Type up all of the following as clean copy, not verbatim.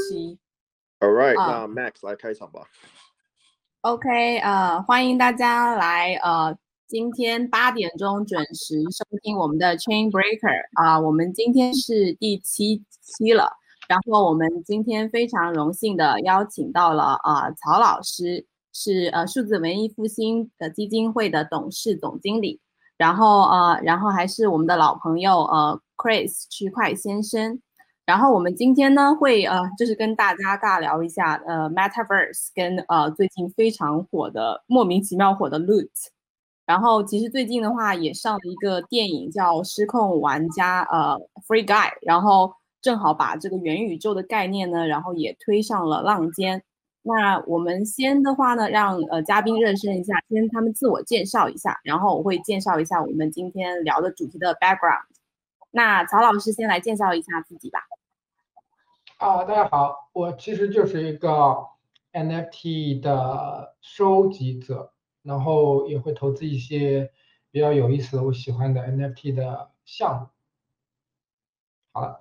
期。 All right，那 Max 来開場吧。 OK，歡迎大家來今天8點鐘準時收聽我們的 Chain Breaker 我們今天是第7期了，然後我們今天非常榮幸的邀請到了曹老師，是數字文藝復興的基金會的董事總經理，然後還是我們的老朋友Chris 區塊先生。然後我們今天呢會就是跟大家尬聊一下Metaverse 跟最近非常火的莫名其妙火的 Loot。然後其實最近的話也上了一個電影叫《失控玩家》Free Guy， 然後正好把這個元宇宙的概念呢，然後也推上了浪尖。那我們先的話呢，讓嘉賓熱身一下，先他們自我介紹一下，然後我會介紹一下我們今天聊的主題的 background。那曹老師先來介紹一下自己吧。 大家好，我其實就是一個 NFT 的收集者，然後也會投資一些比較有意思的、我喜歡的 NFT 的項目。好了，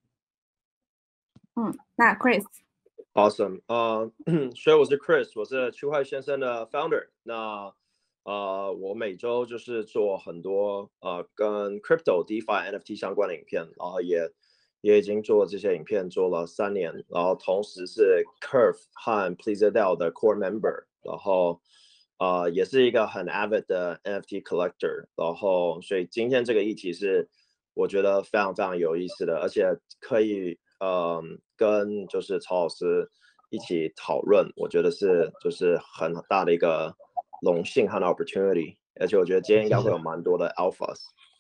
那 Chris。Awesome， 所以我是 Chris， 我是區塊先生的 founder。那我每周就是做很多跟 crypto、DeFi、NFT 相關的影片，然後也已經做這些影片做了3年，然後同時是 Curve 和 Pleaserdale 的 core member， 然後也是一個很 avid 的 NFT collector， 然後所以今天這個議題是我覺得非常非常有意思的，而且可以跟就是曹老師一起討論，我覺得就是很大的一個榮幸和 opportunity， 而且我覺得今天應該會有蠻多的 alphas，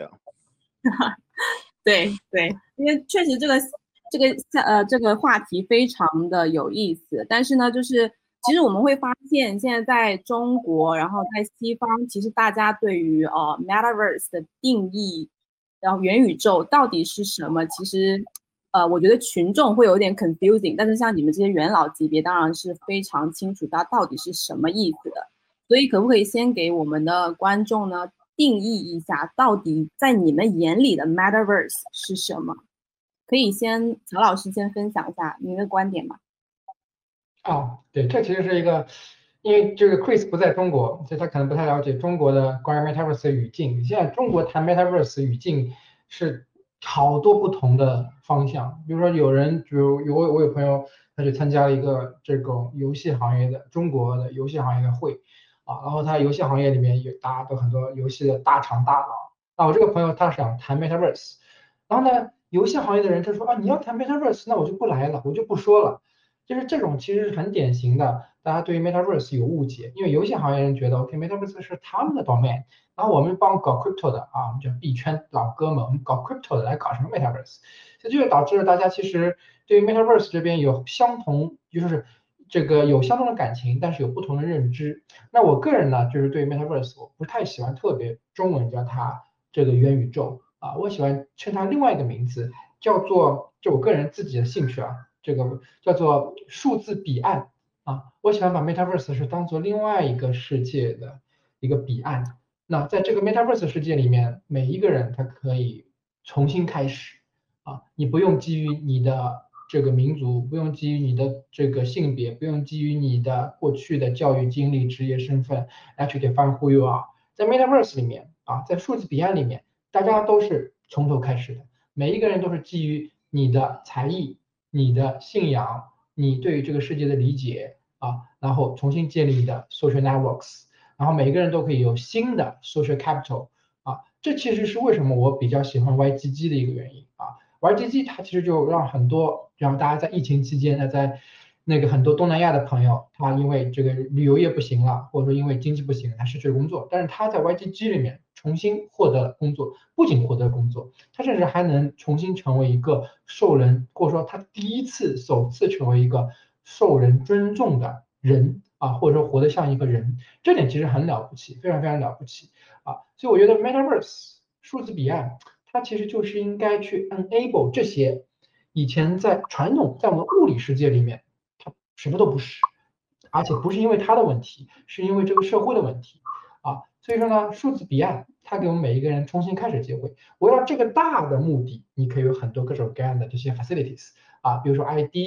對，因為確實這個話題非常的有意思，但是呢，就是其實我們會發現，現在在中國，然後在西方，其實大家對於Metaverse 的定義，然後元宇宙到底是什麼，其實我覺得群眾會有點 confusing， 但是像你們這些元老級別，當然是非常清楚它到底是什麼意思的。所以可不可以先給我們的觀眾呢定義一下，到底在你們眼裡的 Metaverse 是什麼？可以先曹老師先分享一下您的觀點嗎？ 对，這其實是一個，因為這個 Chris 不在中國，所以他可能不太了解中國的關於 Metaverse 的語境。現在中國談 Metaverse 語境是好多不同的方向，比如說我有朋友他去參加了一個這種遊戲行業的中國的遊戲行業的會然後他遊戲行業裡面有大家都很多遊戲的大廠大佬。那我這個朋友他想談 Metaverse， 然後呢，遊戲行業的人他說你要談 Metaverse， 那我就不來了，我就不說了。就是這種其實是很典型的，大家對於 Metaverse 有誤解，因為遊戲行業人覺得 OK，Metaverse 是他們的 domain， 然後我們幫搞 crypto 的我們叫幣圈老哥們，我們搞 crypto 的來搞什麼 Metaverse， 所以這就導致了大家其實對於 Metaverse 這邊有相同，就是這個有相同的感情，但是有不同的認知。那我個人呢，就是對於 Metaverse 我不太喜歡特別中文叫它這個元宇宙我喜歡稱它另外一個名字，叫做就我個人自己的興趣這個叫做數字彼岸我喜歡把 Metaverse 是當做另外一個世界的一個彼岸。那在這個 Metaverse 世界裡面，每一個人他可以重新開始你不用基於你的這個民族，不用基於你的這個性別，不用基於你的過去的教育經歷、職業身份來去 define who you are。在 Metaverse 裡面在數字彼岸裡面，大家都是從頭開始的，每一個人都是基於你的才藝、你的信仰、你對於這個世界的理解然後重新建立你的 social networks， 然後每個人都可以有新的 social capital這其實是為什麼我比較喜歡 YGG 的一個原因YGG 它其實就讓大家在疫情期間呢，在那個很多東南亞的朋友，他因為這個旅遊業不行了，或者說因為经濟不行，他失去了工作，但是他在 YGG 裡面重新獲得了工作，不僅獲得工作，他甚至還能重新成為一個受人，或者說他首次成為一個受人尊重的人或者說活得像一個人，這點其實很了不起，非常非常了不起所以我覺得 Metaverse 數字彼岸它其實就是應該去 enable 這些以前在傳統在我們物理世界裡面它什麼都不是，而且不是因為它的問題，是因為這個社會的問題所以說呢，數字彼岸它給我們每一個人重新開始機會。圍繞這個大的目的，你可以有很多各種各樣的這些 facilities比如說 ID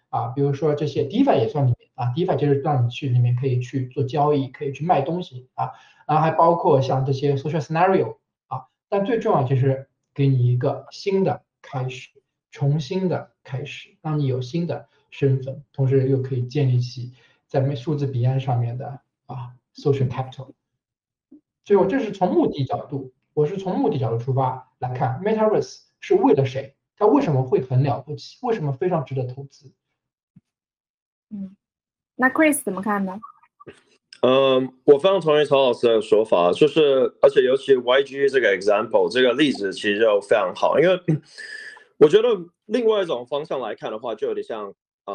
比如說這些 DeFi 也算裡面DeFi 就是讓你去裡面可以去做交易，可以去賣東西然后还包括像这些 social scenario 但最重要就是给你一个新的開始，重新的開始，讓你有新的身份，同時又可以建立起在數字彼岸上面的social capital。所以我這是從目的角度，出發來看 Metaverse 是為了誰，它為什麼會很了不起，為什麼非常值得投資。 那 Chris 怎麼看呢？ 我非常同意曹老師的說法，就是而且尤其 YG 這個 example 這個例子其實就非常好，因為我覺得另外一種方向來看的話，就有點像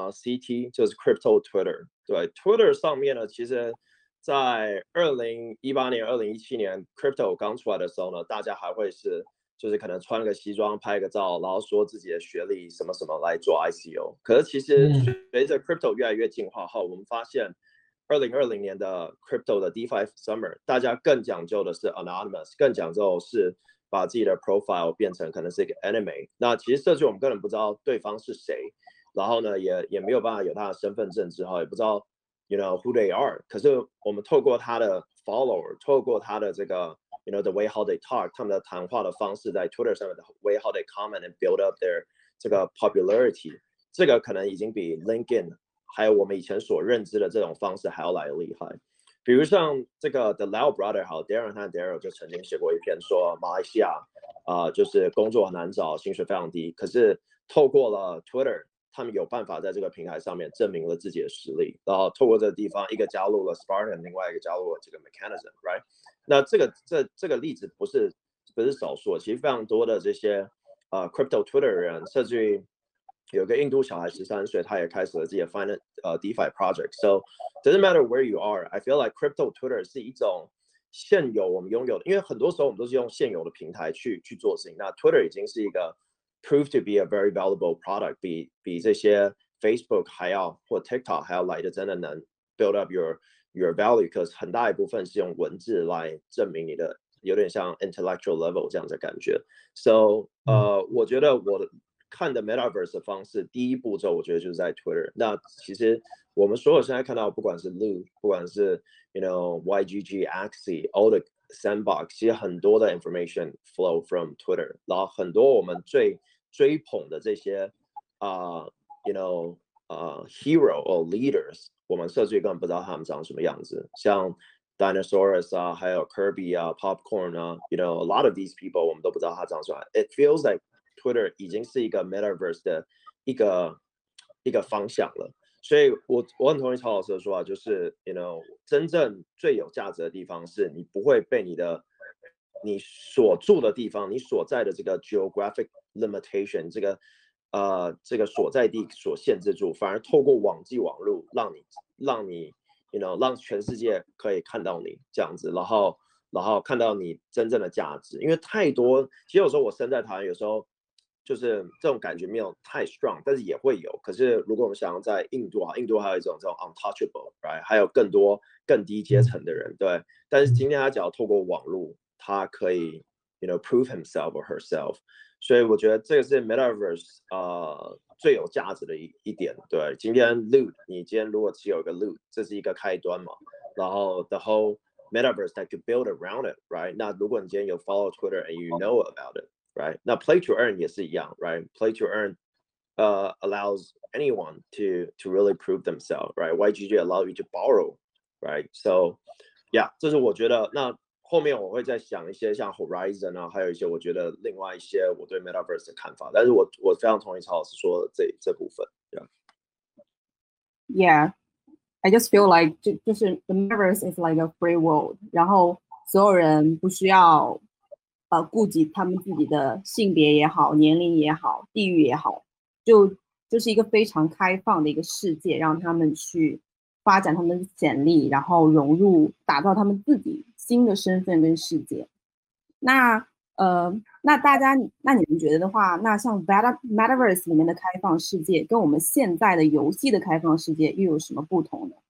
CT 就是 Crypto Twitter， 對 Twitter 上面呢，其實在2018年、2017年 Crypto 剛出來的時候呢，大家還會是就是可能穿個西裝拍個照，然後說自己的學歷什麼什麼來做 ICO。可是其實隨着 Crypto 越來越進化後，我們發現2020年的 Crypto 的 DeFi Summer， 大家更講究的是 Anonymous， 更講究的是把自己的 profile 變成可能是一個 anime。那其實社區我們根本不知道對方是誰，然後呢也沒有辦法有他的身份證之後，也不知道 you know who they are。可是我們透過他的 follower， 透過他的這個 you know the way how they talk， 他們的談話的方式在 Twitter 上面的 way how they comment and build up their 這個 popularity， 這個可能已經比 LinkedIn還有我們以前所認知的這種方式還要來得厲害。比如像這個 The Lau Brother 好 Darren 和 Daryl 就曾經寫過一篇說馬來西亞就是工作很難找，薪水非常低，可是透過了 Twitter， 他們有辦法在這個平台上面證明了自己的實力，然後透過這個地方一個加入了 Spartan， 另外一個加入了這個 Mechanism， right？ 那這個例子不是少數，其實非常多的這些Crypto Twitter 人，甚至於有個印度小孩13歲，他也開始了自己的 DeFi project。So doesn't matter where you are, I feel like Crypto Twitter 是一種現有我們擁有的，因為很多時候我們都是用現有的平台去做事情。那 Twitter 已經是一個 prove to be a very valuable product， 比這些 Facebook 還要或 TikTok 還要來的真的能 build up your value， 可是很大一部分是用文字來證明你的，有點像 intellectual level 這樣的感覺。So 我覺得我看的 Metaverse 的方式，第一步驟我覺得就是在 Twitter。那其實我們所有現在看到，不管是 Loot， 不管是 you know YGG、Axie、all the Sandbox， 其實很多的 information flow from Twitter。然後很多我們最追捧的這些you know hero or leaders， 我們社區根本不知道他們長什麼樣子，像 Dinosaurus 還有 Kirby Popcorn you know a lot of these people 我們都不知道他長什麼樣。It feels like Twitter 已經是一個 Metaverse 的一個方向了，所以我很同意曹老師的說法，就是 you know 真正最有價值的地方是你不會被你所住的地方，你所在的這個 geographic limitation 這個所在地所限制住，反而透過網際網路讓你 you know 讓全世界可以看到你這樣子，然後看到你真正的價值，因為太多，其實有時候我身在台灣，有時候就是這種感覺沒有太 strong， 但是也會有。可是如果我們想要在印度還有一種這種 untouchable，right？ 還有更多更低階層的人，對。但是今天他只要透過網絡，他可以 you know prove himself or herself。所以我覺得這個是 Metaverse 最有價值的一點。對，今天 Loot， 你今天如果只有一個 Loot， 這是一個開端嘛。然後 the whole Metaverse that could build around it，right？ 那如果你今天有 follow Twitter and you know about it。Right， 那 play to earn 也是一樣 ，right？ Play to earn allows anyone to really prove themselves, right? YGG allow you to borrow, right? So, yeah， 這是我覺得。那後面我會再想一些像 Horizon 還有一些我覺得另外一些我對 Metaverse 的看法。但是我非常同意曹老師說的這部分。 Yeah, I just feel like 就是 the Metaverse is like a free world， 然後所有人不需要顧及他們自己的性別也好，年齡也好，地域也好，就是一個非常開放的一個世界，讓他們去發展他們的潛力，然後融入，打造他們自己新的身份跟世界。那大家，那你們覺得的話，那像 Metaverse 裡面的開放世界，跟我們現在的遊戲的開放世界又有什麼不同呢？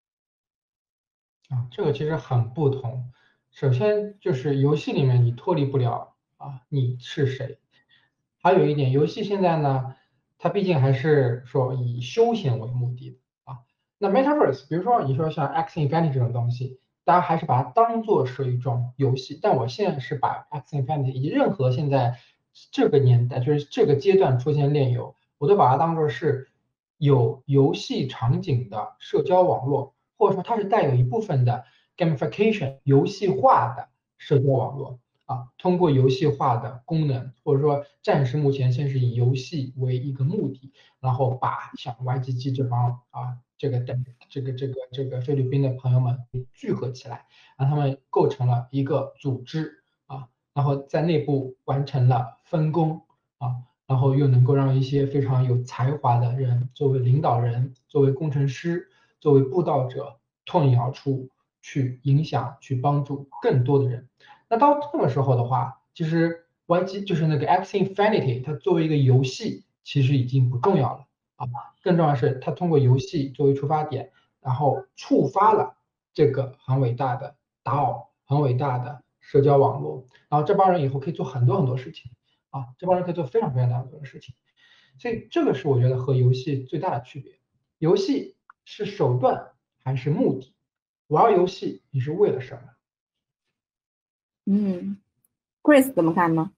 這個其實很不同。首先就是遊戲裡面你脫離不了你是誰，還有一點遊戲現在呢， 它畢竟還是說以休閒為目的的啊。那 Metaverse， 比如說你說像 Axie Infinity 這種東西，大家還是把它當做是一種遊戲。但我現在是把 Axie Infinity 以及任何現在這個年代，就是這個階段出現鏈遊，我都把它當做是有遊戲場景的社交網絡，或者說它是帶有一部分的 gamification 遊戲化的社交網絡啊，通過游戲化的功能，或者說暫時目前先是以游戏為一個目的，然後把像 YGG 這帮这个菲律賓的朋友們聚合起來，讓他們構成了一個組織啊，然後在內部完成了分工啊。然後又能夠讓一些非常有才華的人作為領導人、作為工程師、作為布道者脫穎而出，去影響、去幫助更多的人。那到這個時候的話，其實 YG 就是那個 Axie Infinity， 它作為一個遊戲，其實已經不重要了啊。更重要的是，它通過遊戲作為出發點，然後觸發了這個很偉大的DAO、很偉大的社交網絡，然後這幫人以後可以做很多很多事情。這幫人可以做非常非常多的事情，所以這個是我覺得和遊戲最大的區別。遊戲是手段還是目的？玩遊戲你是為了什麼 ？Chris 怎麼看呢？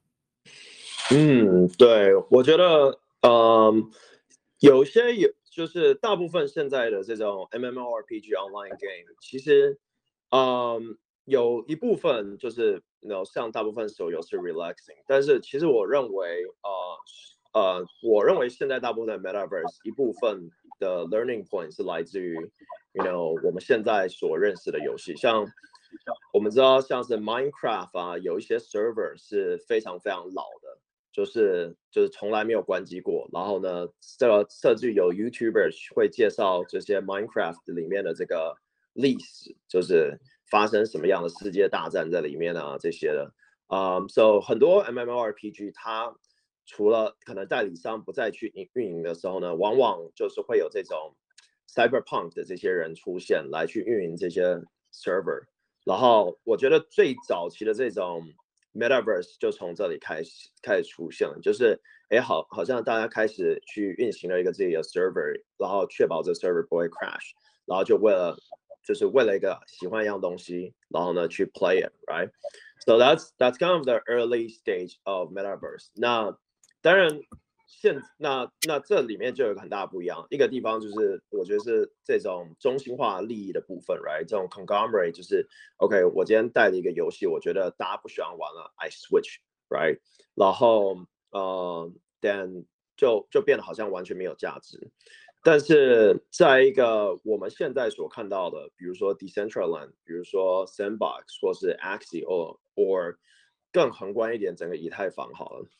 對，我覺得，有些就是大部分現在的這種 MMORPG online game，其實，有一部分就是像大部分手遊是 relaxing， 但是其實我認為現在大部分的 Metaverse 一部分的 learning point 是來自於我們現在所認識的遊戲，像我們知道像是 Minecraft 有一些 server 是非常非常老的，就是從來沒有關機過，然後呢，這個甚至有 YouTuber 會介紹這些 Minecraft 裡面的這個歷史，就是發生什麼樣的世界大戰在裡面啊，這些的，so 很多 MMORPG 它除了可能代理商不再去運營的時候呢，往往就是會有這種 Cyberpunk 的這些人出現來去運營這些 server， 然後我覺得最早期的這種 Metaverse 就從這裡開始出現了，就是好像大家開始去運行了一個自己的 server， 然後確保這 server 不會 crash， 然後就是為了一個喜歡一樣東西，然後呢去 play it， right? So that's kind of the early stage of Metaverse。那當然那這裡面就有一個很大的不一樣，一個地方就是我覺得是這種中心化利益的部分 ，right？ 這種 conglomerate 就是 OK， 我今天帶了一個遊戲，我覺得大家不喜歡玩了 ，I switch，right？ 然後then 就變得好像完全沒有價值。但是在一個我們現在所看到的，比如說 Decentraland， 比如說 Sandbox 或是 Axie or 更宏觀一點，整個以太坊好了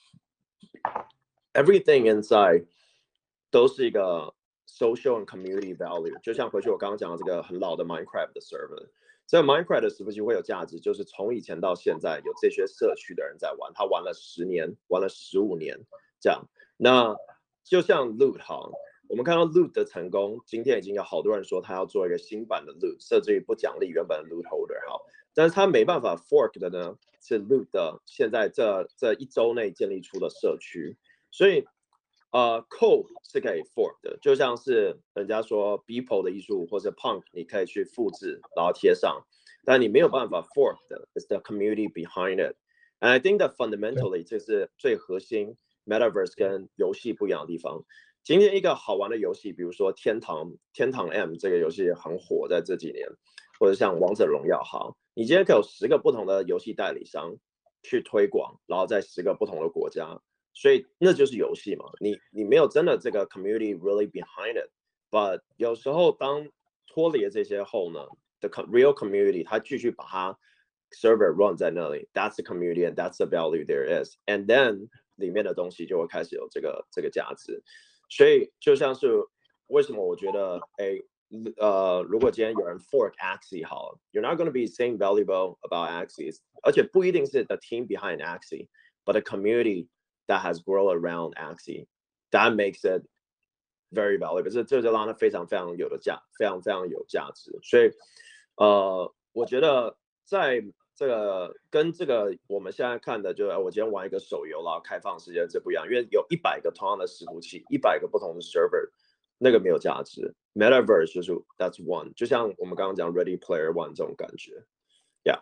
，everything inside 都是一個 social and community value。就像回去我剛剛講的這個很老的 Minecraft 的 server， 這個 Minecraft 的時不時會有價值，就是從以前到現在有這些社區的人在玩，他玩了10年，玩了15年這樣。那就像 Loot 好。我們看到 Loot 的成功，今天已經有好多人說他要做一個新版的 Loot， 甚至於不獎勵原本的 Loot Holder 好，但是他沒辦法 fork 的呢，是 Loot 的現在這一周內建立出的社區，所以code 是可以 fork 的，就像是人家說 Beeple 的藝術或者 Punk 你可以去複製然後貼上，但你沒有辦法 fork 的 is the community behind it， and I think that fundamentally 這是最核心 Metaverse 跟遊戲不一樣的地方。今天一個好玩的遊戲，比如說天堂 M 這個遊戲很火，在這幾年，或者像王者榮耀好，你今天可以有10個不同的遊戲代理商去推廣，然後在10個不同的國家，所以那就是遊戲嘛。你沒有真的這個 community really behind it，but 有時候當脫離了這些後呢 ，the real community 它繼續把它 server run 在那裡 ，that's the community and that's the value there is，and then 裡面的東西就會開始有這個價值。所以就像是為什麼我覺得如果今天有人 fork Axie 好了 ，you're not going to be saying valuable about Axie， 而且不一定是 the team behind Axie，but the community that has grown around Axie，that makes it very valuable。這就讓它非常非常有價值。所以我覺得在這個跟這個我們現在看的，就是我今天玩一個手游然後開放世界，這不一樣，因為有100個同樣的伺服器，100個不同的 server， 那個沒有價值。Metaverse 就是 that's one， 就像我們剛剛講 Ready Player One 這種感覺 ，Yeah。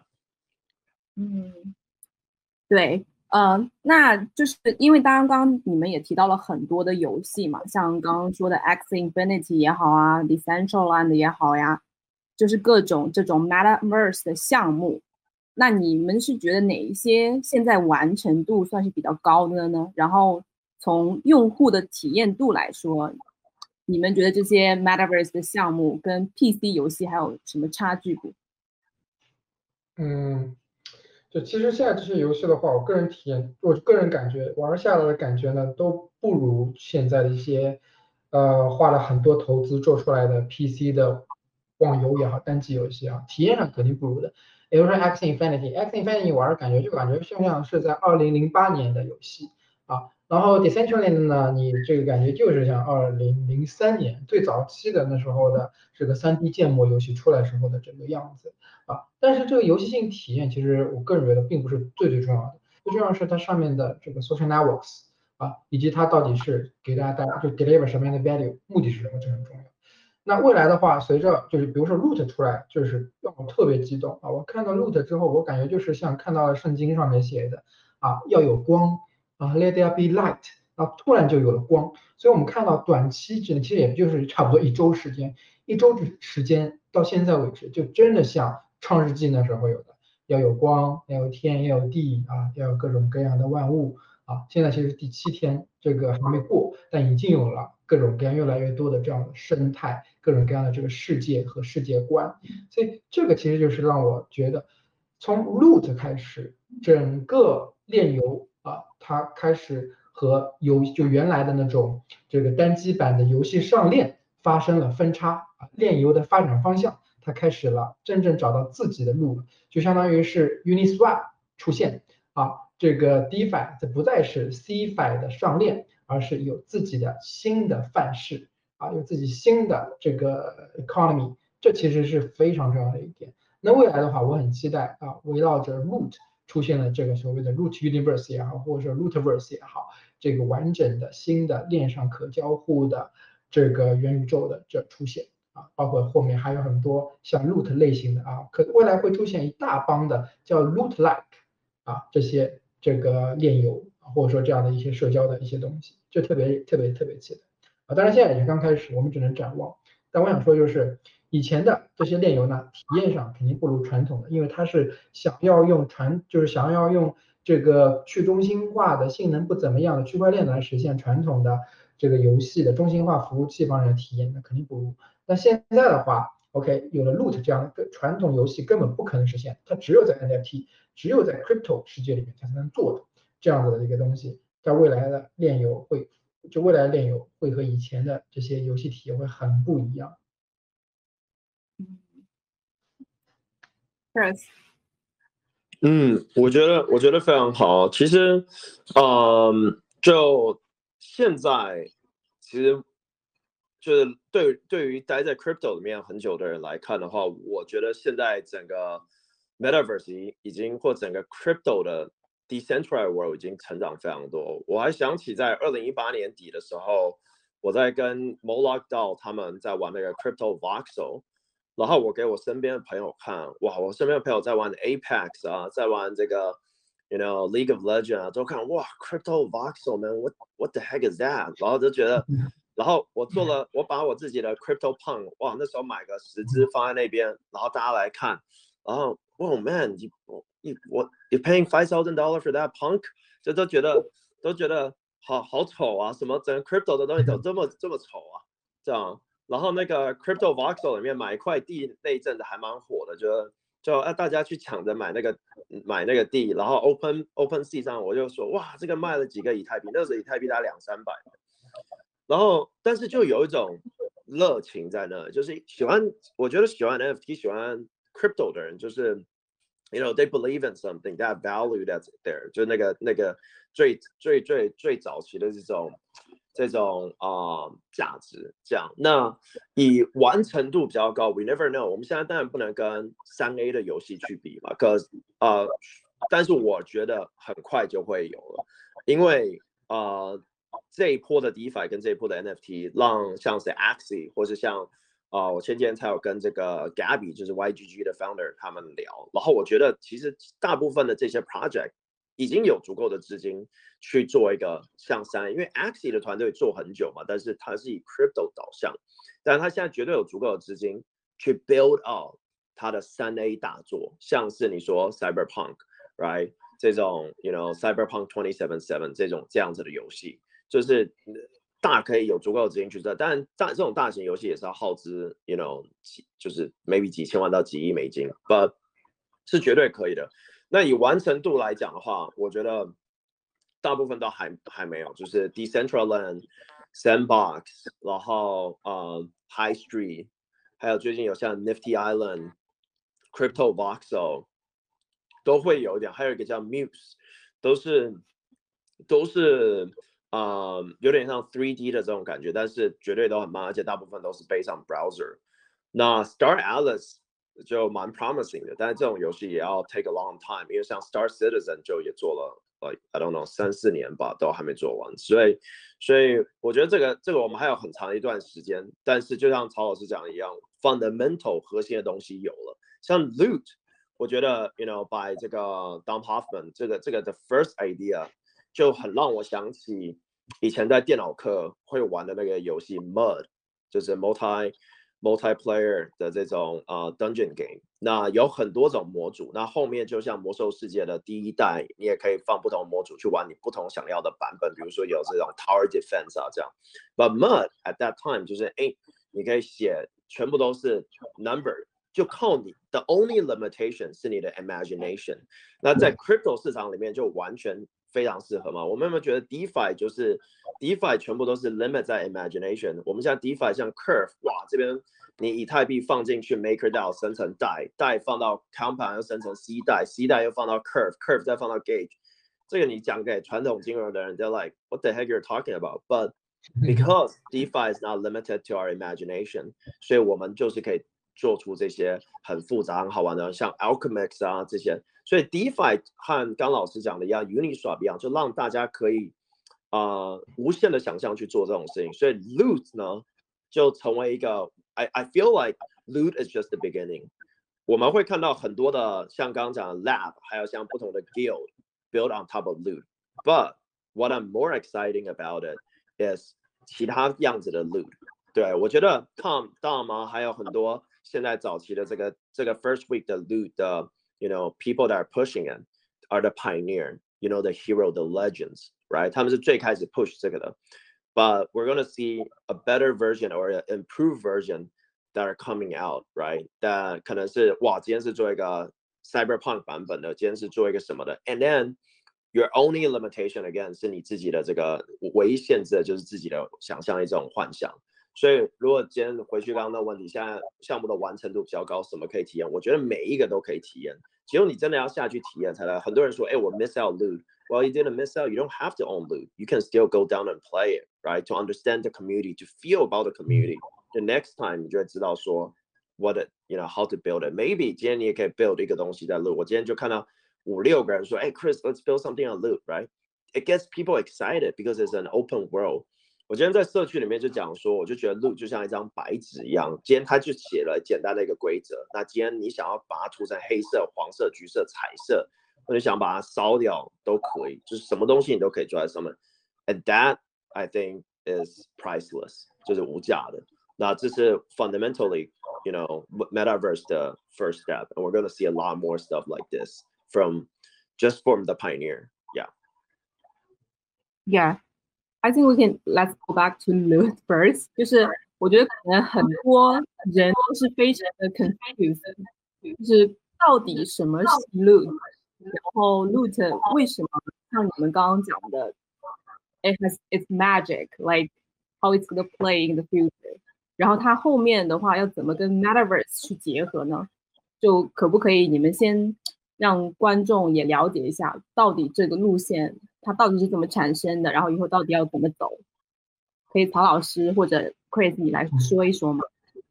對。那就是因為刚刚你們也提到了很多的游戏嘛，像刚刚說的 Axie Infinity 也好啊 ，Decentraland 也好呀，就是各種這種 Metaverse 的項目。那你們是覺得哪一些現在完成度算是比較高的呢？然後從用戶的體驗度來說，你們覺得這些 Metaverse 的項目跟 PC 遊戲還有什麼差距不？ 就其實現在這些遊戲的话，我个人體驗，我個人感覺玩下來的感覺呢，都不如現在的一些花了很多投資做出來的 PC 的網遊也好，單機遊戲啊，體驗上肯定不如的。比如說 Axie Infinity 玩的感覺就感覺像是在2008年的遊戲啊，然後 Decentraland 呢，你這個感覺就是像2003年最早期的那時候的這個3D 建模遊戲出來時候的這個樣子。但是這個遊戲性體驗，其實我個人覺得並不是最重要的，最重要的是它上面的這個 social networks 以及它到底是給大家帶來就 deliver 什麼樣的 value， 目的是什麼，這很重要。那未來的話，隨着就是比如說 Root 出來，就是讓我特別激動我看到 Root 之後，我感覺就是像看到了聖經上面寫的要有光let there be light， 突然就有了光。所以我們看到短期之內，其實也就是差不多1周時間，1周時間到現在為止，就真的像創世紀那時候有的，要有光，要有天，要有地要有各種各樣的萬物現在其實第7天這個還沒過，但已經有了各種各樣越來越多的這樣的生態，各種各樣的這個世界和世界觀。所以這個其實就是讓我覺得，從 Root 開始，整個鏈遊它開始和就原來的那種這個單機版的遊戲上鏈發生了分叉鏈遊的發展方向。它開始了真正找到自己的路，就相當於是 Uniswap 出現這個 DeFi 這不再是 CeFi 的上鏈，而是有自己的新的範式有自己新的這個 economy， 這其實是非常重要的一點。那未來的話，我很期待圍繞着 Root 出現了這個所謂的 Root Universe 也好，或者說 Rootverse 也好，這個完整的新的鏈上可交互的這個元宇宙的這出現。包括後面還有很多像 Loot 類型的未來會出現一大幫的叫 Loot-like 這些這個鏈遊或者說這樣的一些社交的一些東西，就特別期待當然現在也是剛開始，我們只能展望。但我想說就是以前的這些鏈遊呢，體驗上肯定不如傳統的，因為它是想要用這個去中心化的性能不怎麼樣的區塊鏈來實現傳統的這個遊戲的中心化服務器方面的體驗，那肯定不如。那現在的話 ，OK， 有了 Loot 這樣的傳統遊戲根本不可能實現，它只有在 NFT， 只有在 Crypto 世界裡面才能做的這樣子的一個東西，在未來的鏈遊會和以前的這些遊戲體驗會很不一樣。 Chris， 我覺得非常好。其實，就現在其實。就是對於待在 crypto 裡面很久的人來看的話，我覺得現在整個 metaverse 已經或整個 crypto 的 decentralized world 已經成長非常多。我還想起在2018年底的時候，我在跟 Moloch DAO 他們在玩那個 crypto voxel， 然後我給我身邊的朋友看，哇，我身邊的朋友在玩 Apex 在玩這個 League of Legends 都看，哇 crypto voxel man what the heck is that， 然後就覺得。然後我把我自己的 CryptoPunk， 哇，那時候買個10隻放在那邊，然後大家來看，然後 ，Oh man，you're paying $5,000 for that punk， 就都覺得好醜啊，什麼整個 crypto 的東西怎麼這麼醜啊，這樣。然後那個 Crypto Voxel 裡面買一塊地那一陣子還蠻火的，就大家去搶着買那個地，然後 OpenSea 上我就說，哇，這個賣了幾個以太幣，那時候以太幣大概200-300。然後，但是就有一種熱情在那，就是我覺得喜歡 NFT、喜歡 crypto 的人，就是，they believe in something, that value that's there， 就那個最早期的這種價值這樣。那以完成度比較高 ，we never know。我們現在當然不能跟3A 的遊戲去比嘛，但是我覺得很快就會有了，因為這一波的 DeFi 跟這一波的 NFT， 讓像是 Axie 或是像我前幾天才有跟這個 Gabby 就是 YGG 的 founder 他們聊，然後我覺得其實大部分的這些 project 已經有足夠的資金去做一個像3A，因為 Axie 的團隊做很久嘛，但是它是以 crypto 導向，但是它現在絕對有足夠的資金去 build out 它的3A 大作，像是你說 Cyberpunk。Right， 這種 Cyberpunk 2077這樣子的遊戲，就是大可以有足夠的資金去做，但這種大型遊戲也是要耗資就是 maybe 幾千萬到幾億美金 ，but 是絕對可以的。那以完成度來講的話，我覺得大部分都還沒有，就是 Decentraland、Sandbox， 然後High Street， 還有最近有像 Nifty Island、Crypto Voxel。都會有一點，還有一個叫 Muse， 都是有點像 3D 的這種感覺，但是絕對都很慢，而且大部分都是 based on browser。那 Star Atlas 就蠻 promising 的，但是這種遊戲也要 take a long time， 因為像 Star Citizen 就也做了I don't know 3-4年吧，都還沒做完，所以我覺得這個我們還有很長一段時間，但是就像曹老師講的一樣 ，fundamental 核心的東西有了，像 Loot。我覺得 by 這個 Dom Hoffman 這個的 first idea 就很讓我想起以前在電腦課會玩的那個遊戲 Mud， 就是 multiplayer 的這種dungeon game。那有很多種模組，那後面就像魔獸世界的第一代，你也可以放不同模組去玩你不同想要的版本，比如說有這種 tower defense 這樣。But Mud at that time 就是你可以寫全部都是 number。就靠你的 only limitation 是你的 imagination。那在 crypto 市場裡面就完全非常適合嘛。我們有沒有覺得 DeFi 就是 DeFi 全部都是 limit 在 imagination？ 我們現在 DeFi 像 Curve， 哇，這邊你以太幣放進去 MakerDAO 生成代放到 Compound 又生成 C 代又放到 Curve 再放到 Gauge。這個你講給傳統金融的人 ，they're like what the heck you're talking about？ But because DeFi is not limited to our imagination， 所以我們就是可以做出這些很複雜、很好玩的，像 Alchemix 這些，所以 DeFi 和剛老師講的一樣 ，Uniswap 一樣，就讓大家可以無限的想象去做這種事情。所以 Loot 呢，就成為一個 I feel like Loot is just the beginning。我們會看到很多的像剛剛講的 Lab， 還有像不同的 Guild build on top of Loot。But what I'm more exciting about it is 其他樣子的 Loot。對，我覺得 Tom 還有很多。現在早期的這個 first week 的 Loot 的 people that are pushing it are the pioneer, the hero, the legends, right？ 他們是最開始 push 這個的。But we're gonna see a better version or an improved version that are coming out, right？ 但可能是哇，今天是做一個 Cyberpunk 版本的，今天是做一個什麼的 ，and then your only limitation again 是你自己的這個唯一限制的就是自己的想象一種幻想。所以，如果今天回去剛剛的問題，現在項目的完成度比較高，什麼可以體驗？我覺得每一個都可以體驗，只有你真的要下去體驗才能。很多人說，我 miss out Loot。Well, you didn't miss out. You don't have to own Loot. You can still go down and play it, right? To understand the community, to feel about the community. The next time 你就會知道說 what it, how to build it. Maybe 今天你也可以 build 一個東西在 Loot。我今天就看到5-6個人說，Chris, let's build something on Loot, right? It gets people excited because it's an open world.我今天在社區裡面就講說，我就覺得 Loot 就像一張白紙一樣，今天他就寫了簡單的一個規則。那今天你想要把它塗成黑色、黃色、橘色、彩色，或者想把它燒掉都可以，就是什麼東西你都可以做在上面。And that I think is priceless， 就是無價的。那這是 fundamentally, metaverse 的 first step, and we're going to see a lot more stuff like this from the pioneer. Yeah.I think let's go back to Loot first. 就是我覺得可能很多人都是非常的 confused， 就是到底什麼是 Loot， 然後 Loot 為什麼像你們剛剛講的 it's magic, like how it's gonna play in the future. 然後它後面的話要怎麼跟 Metaverse 去結合呢？就可不可以你們先讓觀眾也了解一下，到底這個路線它到底是怎麼產生的，然後以後到底要怎麼走？ 可以曹老師或者 Chris 你來說一說嗎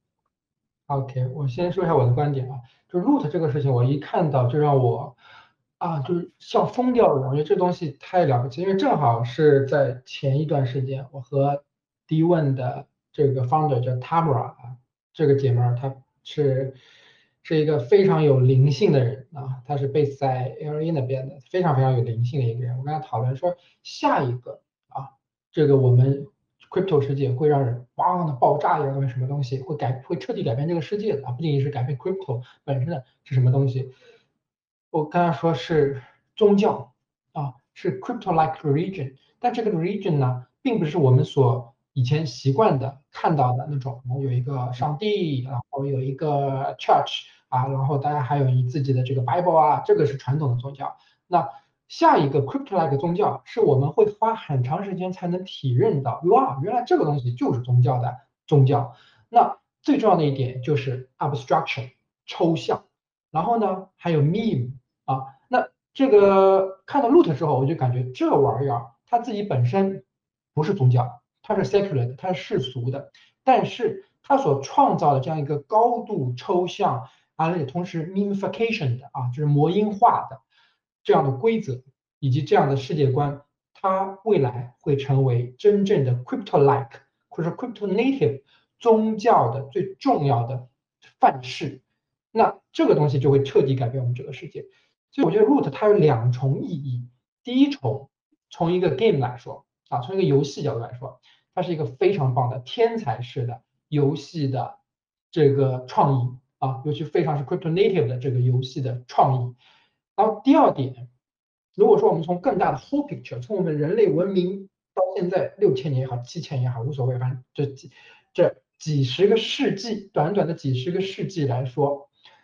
？OK， 我先說一下我的觀點啊，就 root 這個事情，我一看到就讓我就是像瘋掉了，我覺得這東西太了不起，因為正好是在前一段时间，我和 D1 的这个 founder 叫 Tamara 啊，这个姐妹儿她是一个非常有灵性的人啊，她是 base 在 LA 那邊的，非常非常有靈性的一個人。我跟她討論說，下一個這個我們 crypto 世界會讓人哇的爆炸一樣的什麼東西，會徹底改變這個世界的啊，不僅僅是改變 crypto 本身的是什麼東西。我跟他說是宗教是 crypto-like religion， 但這個 religion 呢，並不是我們所以前習慣的看到的那種，有一個上帝，然後有一個 church 然後大家還有你自己的這個 Bible 這個是傳統的宗教。那下一個 crypto-like 宗教是我們會花很長時間才能體認到，哇，原來這個東西就是宗教的宗教。那最重要的一點就是 abstraction 抽象，然後呢還有 meme 那這個看到 root 之後，我就感覺這玩意兒它自己本身不是宗教，它是 secular 的，它是世俗的，但是它所創造的這樣一個高度抽象，而且同時 memification 的就是魔音化的這樣的規則以及這樣的世界觀，它未來會成為真正的 crypto-like 或者 crypto-native 宗教的最重要的範式。那這個東西就會徹底改變我們這個世界。所以我覺得 root 它有兩重意義。第一重，從一個 game 來說從一個遊戲角度來說，它是一個非常棒的天才式的遊戲的這個創意尤其非常是 crypto native 的這個遊戲的創意。然後第二點，如果說我們從更大的 whole picture， 從我們人類文明到現在6000年也好7000年也好無所謂，反正這幾十個世紀，短短的幾十個世紀來說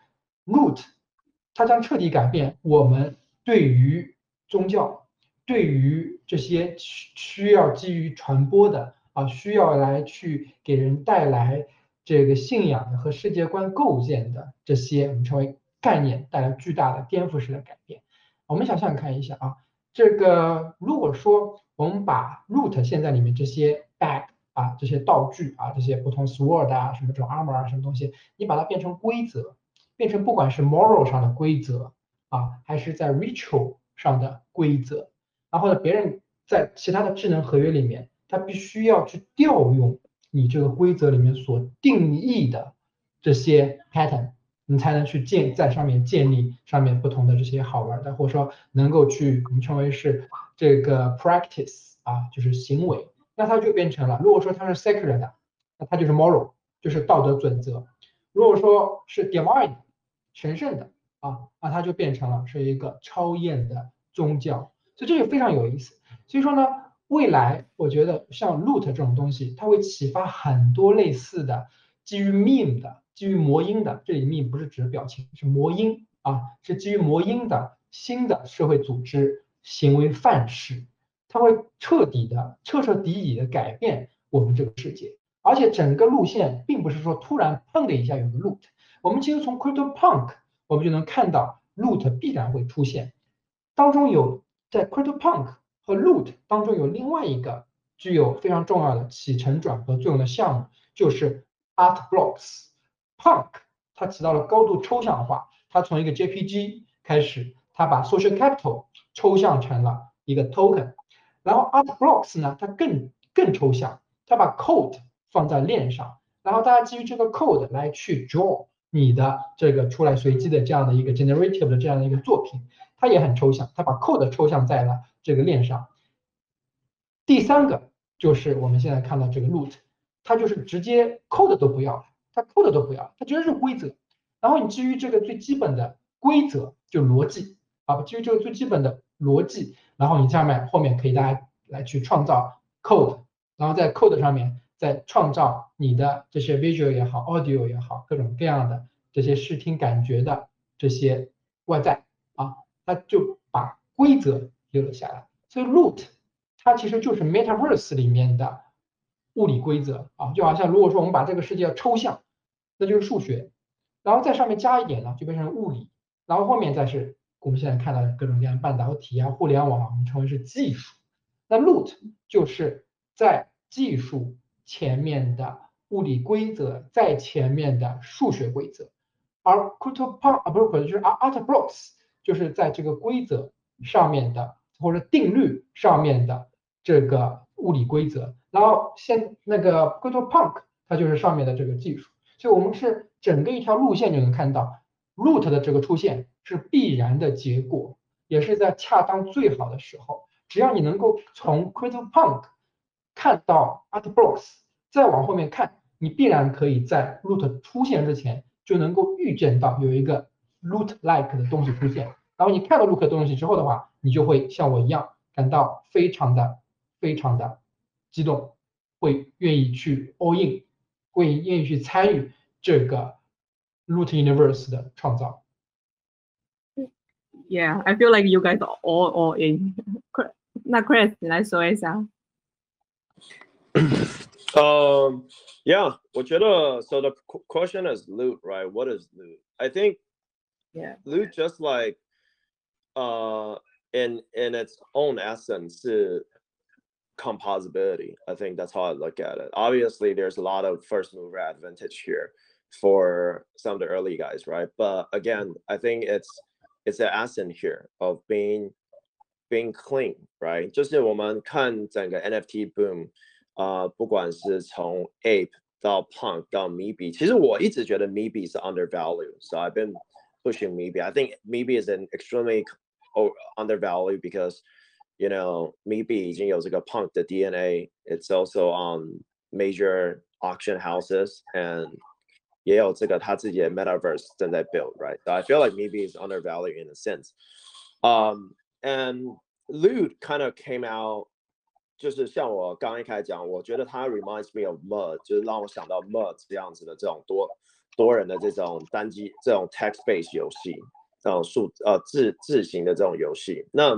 ，root 它將徹底改變我們對於宗教，對於這些需要基於傳播的需要來去給人帶來這個信仰的和世界觀構建的這些我們稱為概念，帶來巨大的顛覆式的改變。我們想想看一下這個如果說我們把 root 現在裡面這些 bag 這些道具這些不同 sword 什麼這種 armor 什麼東西，你把它變成規則，變成不管是 moral 上的規則還是在 ritual 上的規則，然後呢，別人在其他的智能合約裡面，他必須要去調用你這個規則裡面所定義的這些 pattern， 你才能去在上面建立上面不同的這些好玩的，或者說能夠去我們稱為是這個 practice 就是行為，那它就變成了，如果說它是 secular 的，那它就是 moral， 就是道德準則；如果說是 divine 神聖的那它就變成了是一個超驗的宗教。所以這就非常有意思。所以說呢，未來我覺得像 root 這種東西，它會啟發很多類似的基於 meme 的、基於魔音的，這裡 meme 不是指表情，是魔音是基於魔音的新的社會組織行為範式，它會徹徹底底的改變我們這個世界。而且整個路線並不是說突然砰的一下有個 root， 我們其實從 CryptoPunk 我們就能看到 root 必然會出現，當中有在 CryptoPunk 和 root 當中有另外一個具有非常重要的起承轉合作用的項目，就是 Art Blocks。Punk 它起到了高度抽象化，它從一個 JPG 開始，它把 Social Capital 抽象成了一個 token。然後 Art Blocks 呢，它更抽象，它把 code 放在鏈上，然後大家基於這個 code 來去 draw 你的這個出來隨機的這樣的一個 generative 的這樣的一個作品，它也很抽象，它把 code 抽象在了這個鏈上。第三個就是我們現在看到這個 root， 它就是直接 code 都不要，它 code 都不要，它直接是規則。然後你基於這個最基本的規則，就邏輯基於這個最基本的邏輯，然後你下面後面可以大家來去創造 code， 然後在 code 上面再創造你的這些 visual 也好 audio 也好各種各樣的這些視聽感覺的這些外在它就把規則留了下來。所以 root 它其實就是 metaverse 裡面的物理規則就好像如果說我們把這個世界要抽象，那就是數學，然後在上面加一點呢就變成物理，然後後面再是我們現在看到的各種各樣的半導體互聯網我們稱為是技術。那 root 就是在技術前面的物理規則，在前面的數學規則，而 CryptoPunk 不是就是 AltBlocks 就是在這個規則上面的或者定律上面的這個物理規則，然後那個 CryptoPunk 它就是上面的这個技術，所以我們是整個一條路線就能看到 root 的這個出現是必然的結果，也是在恰當最好的時候，只要你能夠從 CryptoPunk 看到 AltBlocks， 再往後面看，你必然可以在 root 出現之前就能夠預見到有一個 root-like 的東西出現，然後你看到 root 的東西之後的話，你就會像我一樣感到非常的激動，會願意去 all in， 會願意去參與這個 root universe 的創造。 Yeah, I feel like you guys are all in. 那 Chris 你來說一下。 Yeah, 我覺得 so the question is loot, right? What is loot? I think loot just like in its own essence is composability. I think that's how I look at it. Obviously, there's a lot of first mover advantage here for some of the early guys, right? But again, I think it's the essence here of being clean, right? 就是我們看整個 NFT boom。不管是從 Ape 到 Punk 到 Meebee， 其實我一直覺得 Meebee 是 undervalued, so I've been pushing Meebee. I think Meebee is an extremely undervalued because, you know, Meebee 已經有這個 Punk 的 DNA. It's also on major auction houses and 也有這個他自己的 metaverse 正在 build, right? So I feel like Meebee is undervalued in a sense. And Loot kind of came out. 就是像我剛剛一開始講，我覺得它 reminds me of Mud， 就是讓我想到 Mud 這樣子的這種多人的這種單機這種 text-based 遊戲，這種字型的這種遊戲。那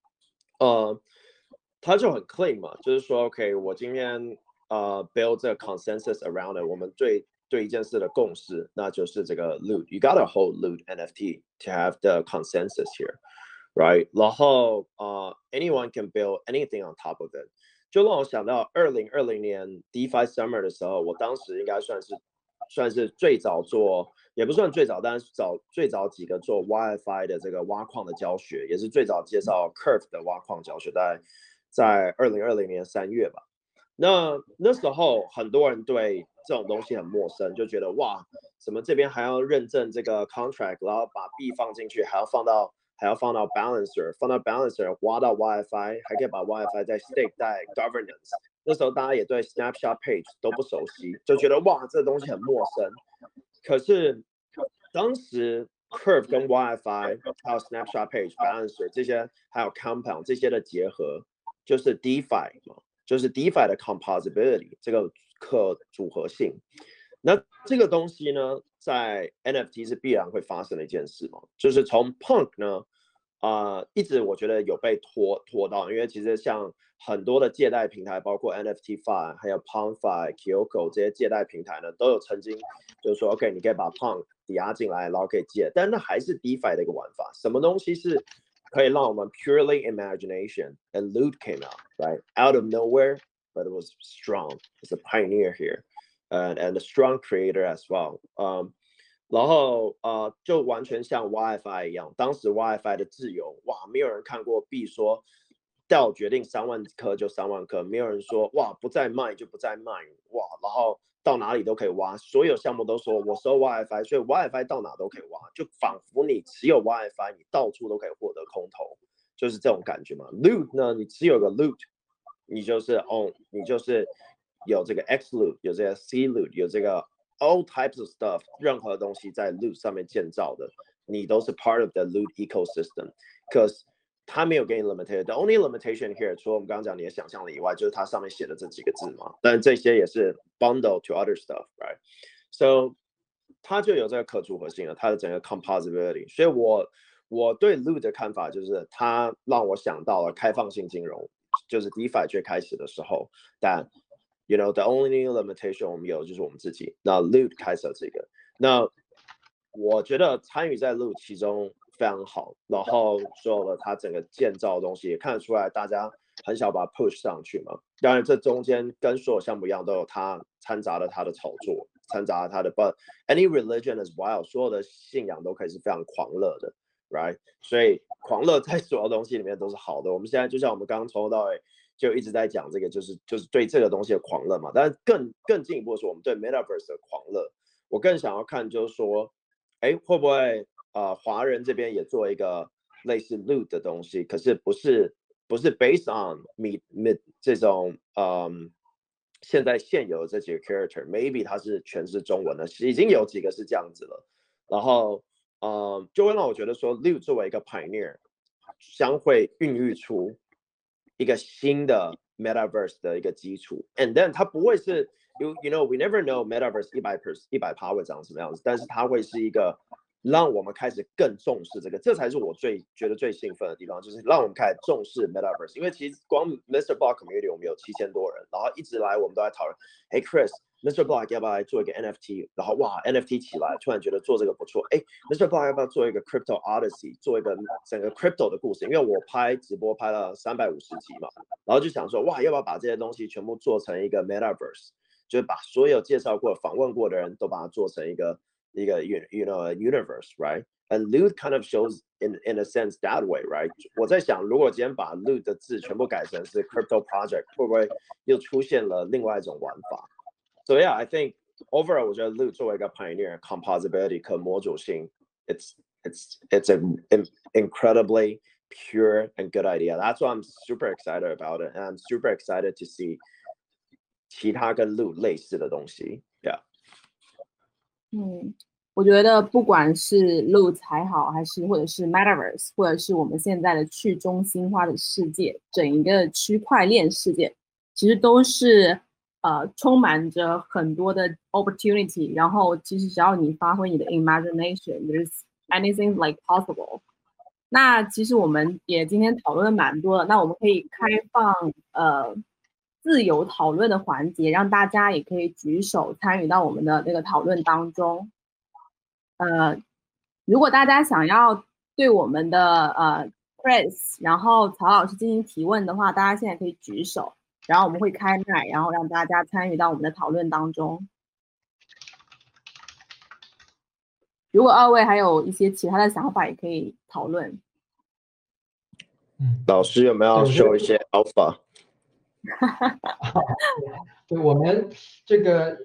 它就很 clean 嘛，就是說 OK， 我今天build 這個 consensus around it， 我們對一件事的共識，那就是這個 loot。You gotta hold loot NFT to have the consensus here。Right， 然後anyone can build anything on top of it， 就讓我想到2020年 DeFi Summer 的時候，我當時應該算是最早做，也不算最早，但是最早幾個做 YFI 的這個挖礦的教學，也是最早介紹 Curve 的挖礦教學，在2020年3月吧。那時候很多人對這種東西很陌生，就覺得哇，怎麼這邊還要認證這個 contract， 然後把幣放進去，還要放到 balancer， 放到 balancer 挖到 YFI， 還可以把 YFI 再 stake 在 governance。那時候大家也對 snapshot page 都不熟悉，就覺得哇，這東西很陌生。可是當時 Curve 跟 YFI 還有 snapshot page、balancer 這些，還有 compound 這些的結合，就是 DeFi 嘛，就是 DeFi 的 composability 這個可組合性。那這個東西呢，在 NFT 是必然會發生的一件事嘛，就是從 Punk 呢，一直我覺得有被拖到，因為其實像很多的借貸平台，包括 NFT-Fi 還有 Punk-Fi、Kyoko 這些借貸平台呢，都有曾經就是說 OK， 你可以把 Punk 抵押進來，然後可以借，但那還是 DeFi 的一個玩法。什麼東西是可以讓我們 purely imagination and loot came out, right? Out of nowhere, but it was strong. It's a pioneer here.And a strong creator as well. 然後就完全像 YFI 一樣，當時 YFI 的自由，哇，沒有人看過幣說到決定3萬顆就3萬顆，沒有人說哇不再賣就不再賣，哇，然後到哪裡都可以挖，所有項目都說我收 YFI， 所以 YFI 到哪都可以挖，就仿佛你持有 YFI， 你到處都可以獲得空投，就是這種感覺嘛。Loot 呢，你持有個 Loot， 你就是 own， 你就是有這個 X loot， 有這個 C loot， 有這個 all types of stuff， 任何東西在 loot 上面建造的，你都是 part of the loot ecosystem。Because 它沒有給你 limitation，the only limitation here， 除了我們剛剛講你的想象力以外，就是它上面寫的這幾個字嘛。但這些也是 bundle to other stuff，right？ So 它就有這個可組合性了，它的整個 composability。所以我對 loot 的看法就是，它讓我想到了開放性金融，就是 DeFi 最開始的時候，但You know, the only limitation 我們有就是我們自己。那 Loot 開設這個，那我覺得參與在 Loot 其中非常好。然後所有的它整個建造的東西也看得出來，大家很想把它 push 上去嘛。當然，這中間跟所有項目一樣，都有它摻雜了它的炒作，摻雜了它的 But any religion is wild， 所有的信仰都可以是非常狂熱的 ，right？ 所以狂熱在所有東西裡面都是好的。我們現在就像我們剛剛從頭到尾就一直在講這個，就是對這個東西的狂熱嘛。但是更進一步的說，我們對 Metaverse 的狂熱，我更想要看就是說，哎，會不會華人這邊也做一個類似 Loot 的東西，可是不是 based on 這種現在現有的這幾個 character，maybe 它是全是中文的，已經有幾個是這樣子了。然後就會讓我覺得說 Loot 作為一個 pioneer， 將會孕育出一個新的 Metaverse 的一個基礎 ，and then 它不會是 you know we never know Metaverse 100% 會長什麼樣子，但是它會是一個讓我們開始更重視這個，這才是我覺得最興奮的地方，就是讓我們開始重視 Metaverse。因為其實光 Mr. Block Community 我們有7000多人，然後一直來我們都在討論，哎 Chris。Mr. Block 要不要來做一個 NFT？ 然後哇 NFT 起來，突然覺得做這個不錯。哎 ，Mr. Block 要不要做一個 Crypto Odyssey， 做一個整個 Crypto 的故事？因為我拍直播拍了350集嘛，然後就想說哇，要不要把這些東西全部做成一個 Metaverse， 就是把所有介紹過、訪問過的人都把它做成一個 you know universe，right？ And Loot kind of shows in a sense that way, right？ 我在想，如果今天把 Loot 的字全部改成是 Crypto Project， 會不會又出現了另外一種玩法？So yeah, I think overall, 我覺得 Loot 作為一個 pioneer, composability 可模組性 it's an incredibly pure and good idea. That's why I'm super excited about it, and I'm super excited to see 其他跟 Loot 類似的東西。Yeah. 我覺得不管是 Loot 還好，還是或者是 Metaverse， 或者是我們現在的去中心化的世界，整一個區塊鏈世界，其實都是充滿着很多的 opportunity， 然後其實只要你發揮你的 imagination，there's anything like possible。那其實我們也今天討論了蠻多的，那我們可以開放自由討論的環節，讓大家也可以舉手參與到我們的那個討論當中。如果大家想要對我們的Chris， 然後曹老師進行提問的話，大家現在可以舉手。然後我們會開麥，然後讓大家參與到我們的討論當中。如果二位還有一些其他的想法，也可以討論。 老師有沒有要 show 一些 alpha？ 对，我們這個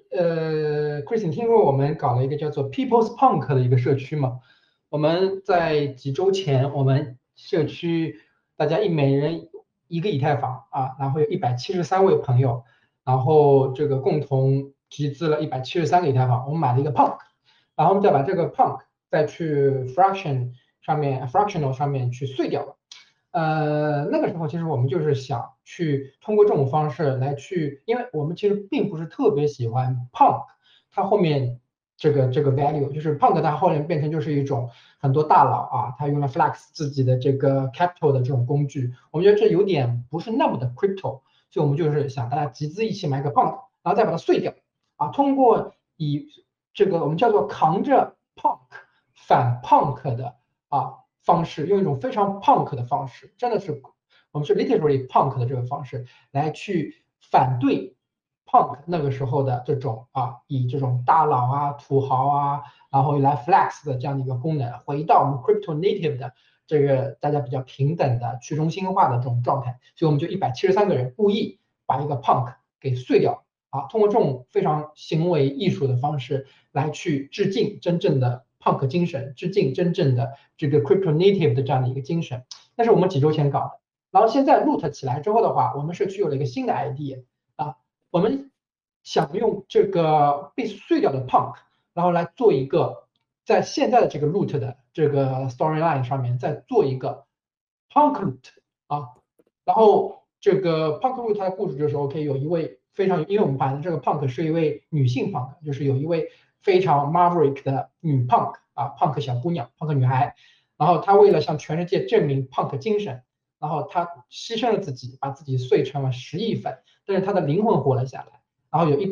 Chris， 你聽過我們搞了一個叫做 People's Punk 的一個社區嗎？我們在幾週前，我們社區大家每人1個以太坊啊，然後有173位朋友，然後這個共同集資了173個以太坊。我們買了一個 Punk， 然後我們再把這個 Punk 再去 Fractional 上面去碎掉了。那個時候其實我們就是想去通過這種方式來去，因為我們其實並不是特別喜歡 Punk， 它後面這個 value 就是 Punk 它後面變成就是一種很多大佬啊，他用了 flex 自己的這個 capital 的這種工具，我們覺得這有點不是那麼的 crypto， 所以我們就是想大家集資一起買個 Punk， 然後再把它碎掉啊，通過以這個我們叫做扛着 Punk 反 Punk 的方式，用一種非常 Punk 的方式，真的是我们是 literally Punk 的這個方式來去反對 Punk 那個時候的這種以這種大佬啊、土豪啊，然後來 flex 的這樣的一個功能，回到我們 crypto native 的這個大家比較平等的去中心化的這種狀態，所以我們就173個人故意把一個 Punk 給碎掉通過這種非常行為藝術的方式來去致敬真正的 Punk 精神，致敬真正的這個 crypto native 的這樣的一個精神。那是我們幾週前搞的，然後現在 Loot 起來之後的話，我們社區有了一個新的 idea 我們想用這個被碎掉的 Punk， 然後來做一個在現在的這個 Loot 的這個 storyline 上面再做一個 Punk Loot 然後這個 Punk Loot 它的故事就是 OK， 有一位非常，因為我们把这个 Punk 是一位女性 Punk， 就是有一位非常 Maverick 的女 Punk Punk 小姑娘 Punk 女孩，然後她为了向全世界證明 Punk 精神，然後她犧牲了自己，把自己碎成了10億份，但是她的靈魂活了下來，然後有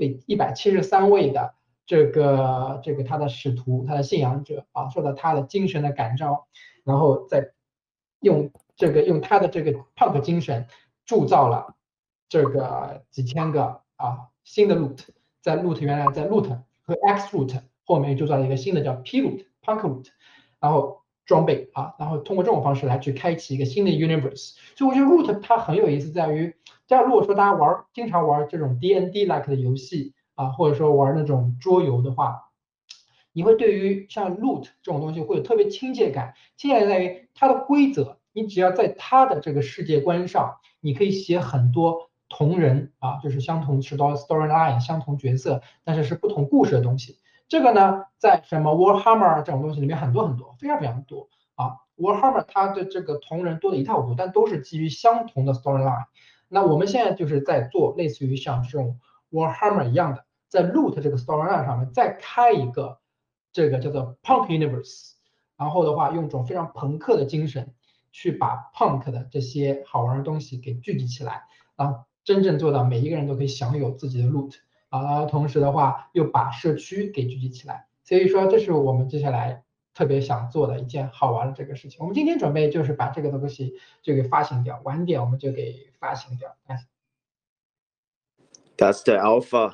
173位的這個她的使徒，她的信仰者受到她的精神的感召，然後再用她的這個 Punk 精神鑄造了這個幾千個新的 loot， 在 loot 原來在 loot 和 X loot 后面又鑄造了一個新的叫 P loot Punk loot， 然後裝備然后通過這種方式來去開啟一個新的 universe。所以我覺得 loot 它很有意思，在於，假如如果說大家經常玩這種 D&D-like 的遊戲或者說玩那種桌遊的話，你會對於像 loot 這種東西會有特別親切感。親切感在於它的規則，你只要在它的這個世界觀上，你可以寫很多同人就是相同是 storyline 相同角色，但是是不同故事的東西。这個呢，在什麼 Warhammer 這種東西裡面很多很多，非常非常多Warhammer 它的這個同人多的一塌糊塗，但都是基於相同的 storyline。那我們現在就是在做類似於像這種 Warhammer 一樣的，在 loot 這個 storyline 上面再開一個這個叫做 Punk Universe， 然後的話用一種非常朋克的精神去把 Punk 的這些好玩的東西給聚集起來，然後真正做到每一個人都可以享有自己的 loot， 然後同時的話又把社區給聚集起來。所以說這是我們接下來特別想做的一件好玩的這個事情。我們今天準備就是把這個東西就給發行掉，晚點我們就給發行掉。 That's the alpha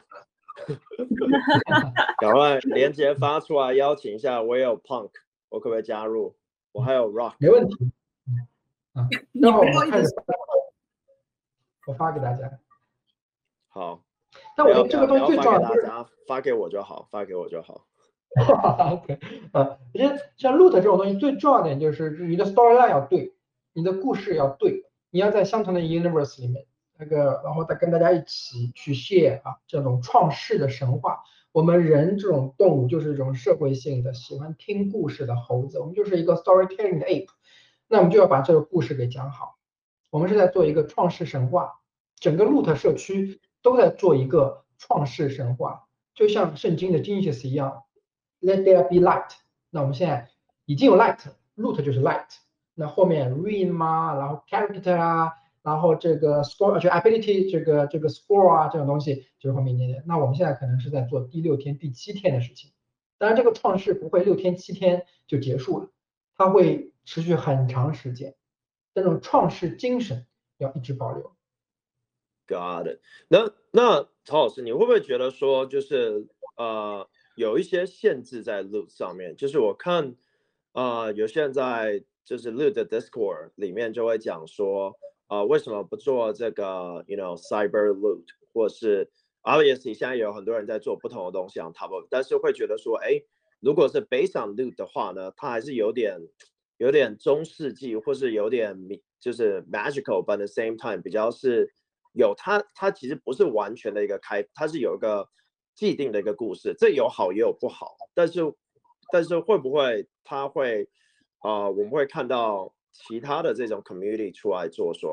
趕快連結發出來，邀請一下。我也有 Punk， 我可不可以加入？我還有 Rock， 沒問題。然後我們開始，我發給大家。 好。 但我覺得這個東西最重要的是發給我就好，發給我就好。 OK， 我覺得像 loot 這種東西最重要的點就是你的 storyline 要對，你的故事要對，你要在相同的 universe 裡面。然後再跟大家一起去 share 這種創世的神話。我們人這種動物就是一種社會性的，喜歡聽故事的猴子，我們就是一個 storytelling 的 ape。那我們就要把這個故事給講好。我們是在做一個創世神話，整個 loot 社區都在做一個創世神話，就像聖經的 Genesis 一樣 ，Let there be light。那我們現在已經有 light，loot 就是 light。那後面 realm 然後 character然後這個 score 就 ability 這個 score 這種東西就是後面一點點。那我們現在可能是在做第6天、第7天的事情。當然，這個創世不會6天、7天就結束了，它會持續很長時間。這種創世精神要一直保留。 Got it。那曹老師，你會不會覺得說，就是有一些限制在 loot 上面？就是我看有些人在就是 loot 的 Discord 裡面就會講說。為什麼不做這個 cyber loot， 或是 obviously 現在有很多人在做不同的東西 on top of， 但是會覺得說，如果是 based on loot 的話呢，它還是有點中世紀，或是有點就是 magical，but at the same time 比較是有它其實不是完全的一個它是有一個既定的一個故事，這有好也有不好，但是會不會它會我們會看到其他的這種 community 出來做說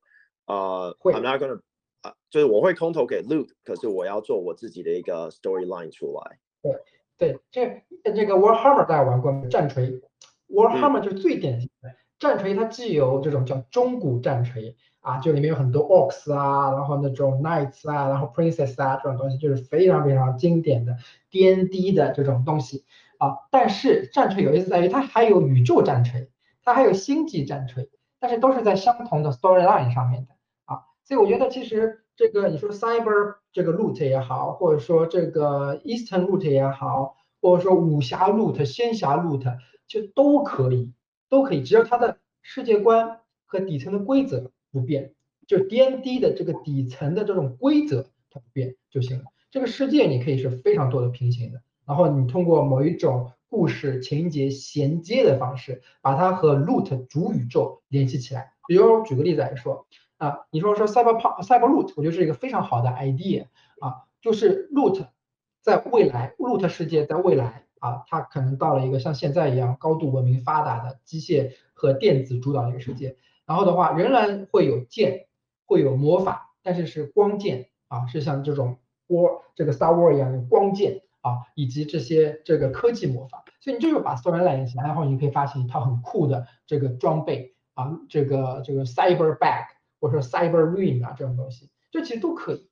OK，I'm not gonna，就是我會空投給 loot， 可是我要做我自己的一個 storyline 出來。 对，這個 Warhammer 大家玩過戰錘 ，Warhammer 就是最典型的戰錘，它既有這種叫中古戰錘就裡面有很多 orcs 然後那種 knights 然後 princess 這種東西，就是非常非常經典的 D&D 的這種東西但是戰錘有意思在於它還有宇宙戰錘。它還有星際戰錘，但是都是在相同的 storyline 上面的所以我覺得其實這個你說 cyber 這個 loot 也好，或者說這個 Eastern loot 也好，或者說武俠 loot、仙俠 loot 就都可以，只要它的世界觀和底層的規則不變，就 D&D 的這個底層的這種規則它不變就行了。這個世界你可以是非常多的平行的，然後你通過某一種故事情節銜接的方式，把它和 loot 主宇宙聯繫起來。比如舉個例子來說你說 cyber loot， 我覺得是一個非常好的 idea 就是 loot 在未來 ，loot 世界在未來它可能到了一個像現在一樣高度文明發達的机械和電子主导的一個世界。然後的話，仍然會有劍，會有魔法，但是是光劍是像這種這個 Star Wars 一樣的光劍。以及這些這個科技魔法，所以你就把 storyline 起來，然後你可以發行一套很酷的這個裝備這個 cyber bag 或者說 cyber ring 這種東西，這其實都可以。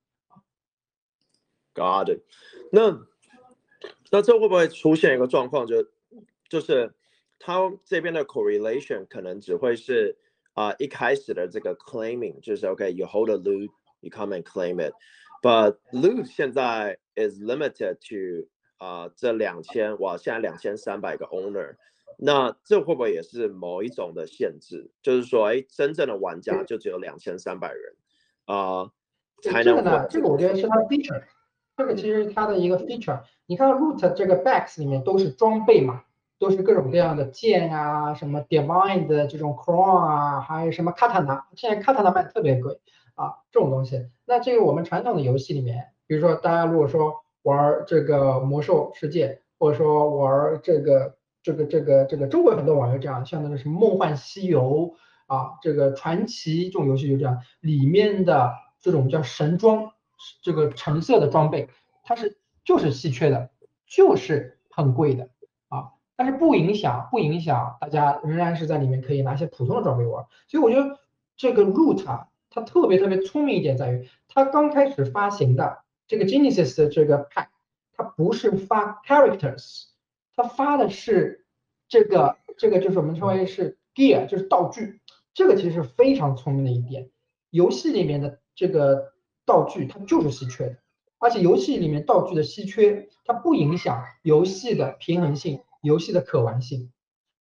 Got it。那這會不會出現一個狀況，就是它這邊的 correlation 可能只會是一開始的這個 claiming 就是 OK you hold a loot you come and claim it but loot 現在 is limited to 這2000哇現在2300個 owner 那這會不會也是某一種的限制就是說真正的玩家就只有2300人才能这个我覺得是它的 feature 這個其實是它的一個 feature 你看 loot 這個 bags 裡面都是裝備嘛都是各種各樣的劍啊什麼 divine 的這種 crown 啊還有什麼 katana 現在 katana 賣特別貴這種東西那這個我們傳統的遊戲裡面比如說大家如果說玩這個魔獸世界或者說玩這個中國很多網遊這樣像那個什麼夢幻西遊這個傳奇這種遊戲就這樣裡面的這種叫神裝這個橙色的裝備它就是稀缺的就是很貴的但是不影響大家仍然是在裡面可以拿一些普通的裝備玩所以我覺得這個 Root 它特別聰明一點在於它剛開始發行的這個 Genesis 的這個 pack 它不是發 characters 它發的是這個就是我們稱為是 gear 就是道具這個其實是非常聰明的一點遊戲裡面的這個道具它就是稀缺的而且遊戲裡面道具的稀缺它不影響遊戲的平衡性遊戲的可玩性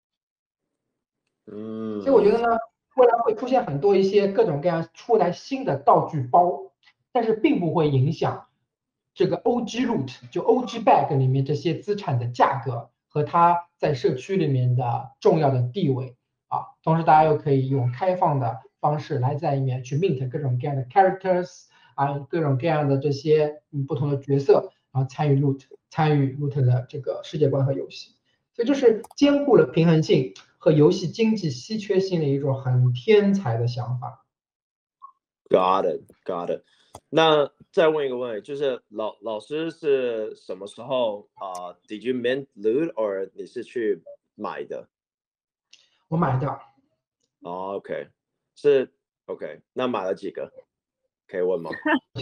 所以我覺得呢未來會出現很多一些各種各樣出來新的道具包但是並不會影響這個 OG Loot 就 OG Bag 裡面這些資產的價格和它在社區裡面的重要的地位同時大家又可以用開放的方式來在裡面去 mint 各種各樣的 characters各種各樣的這些不同的角色然後參與 Loot 的這個世界觀和遊戲所以就是兼顧了平衡性和遊戲經濟稀缺性的一種很天才的想法。 Got it. 那再問一個問題，就是老師是什麼時候Did you mint loot or 你是去買的？ 我買的。 OK 是 OK 那買了幾個？可以問嗎？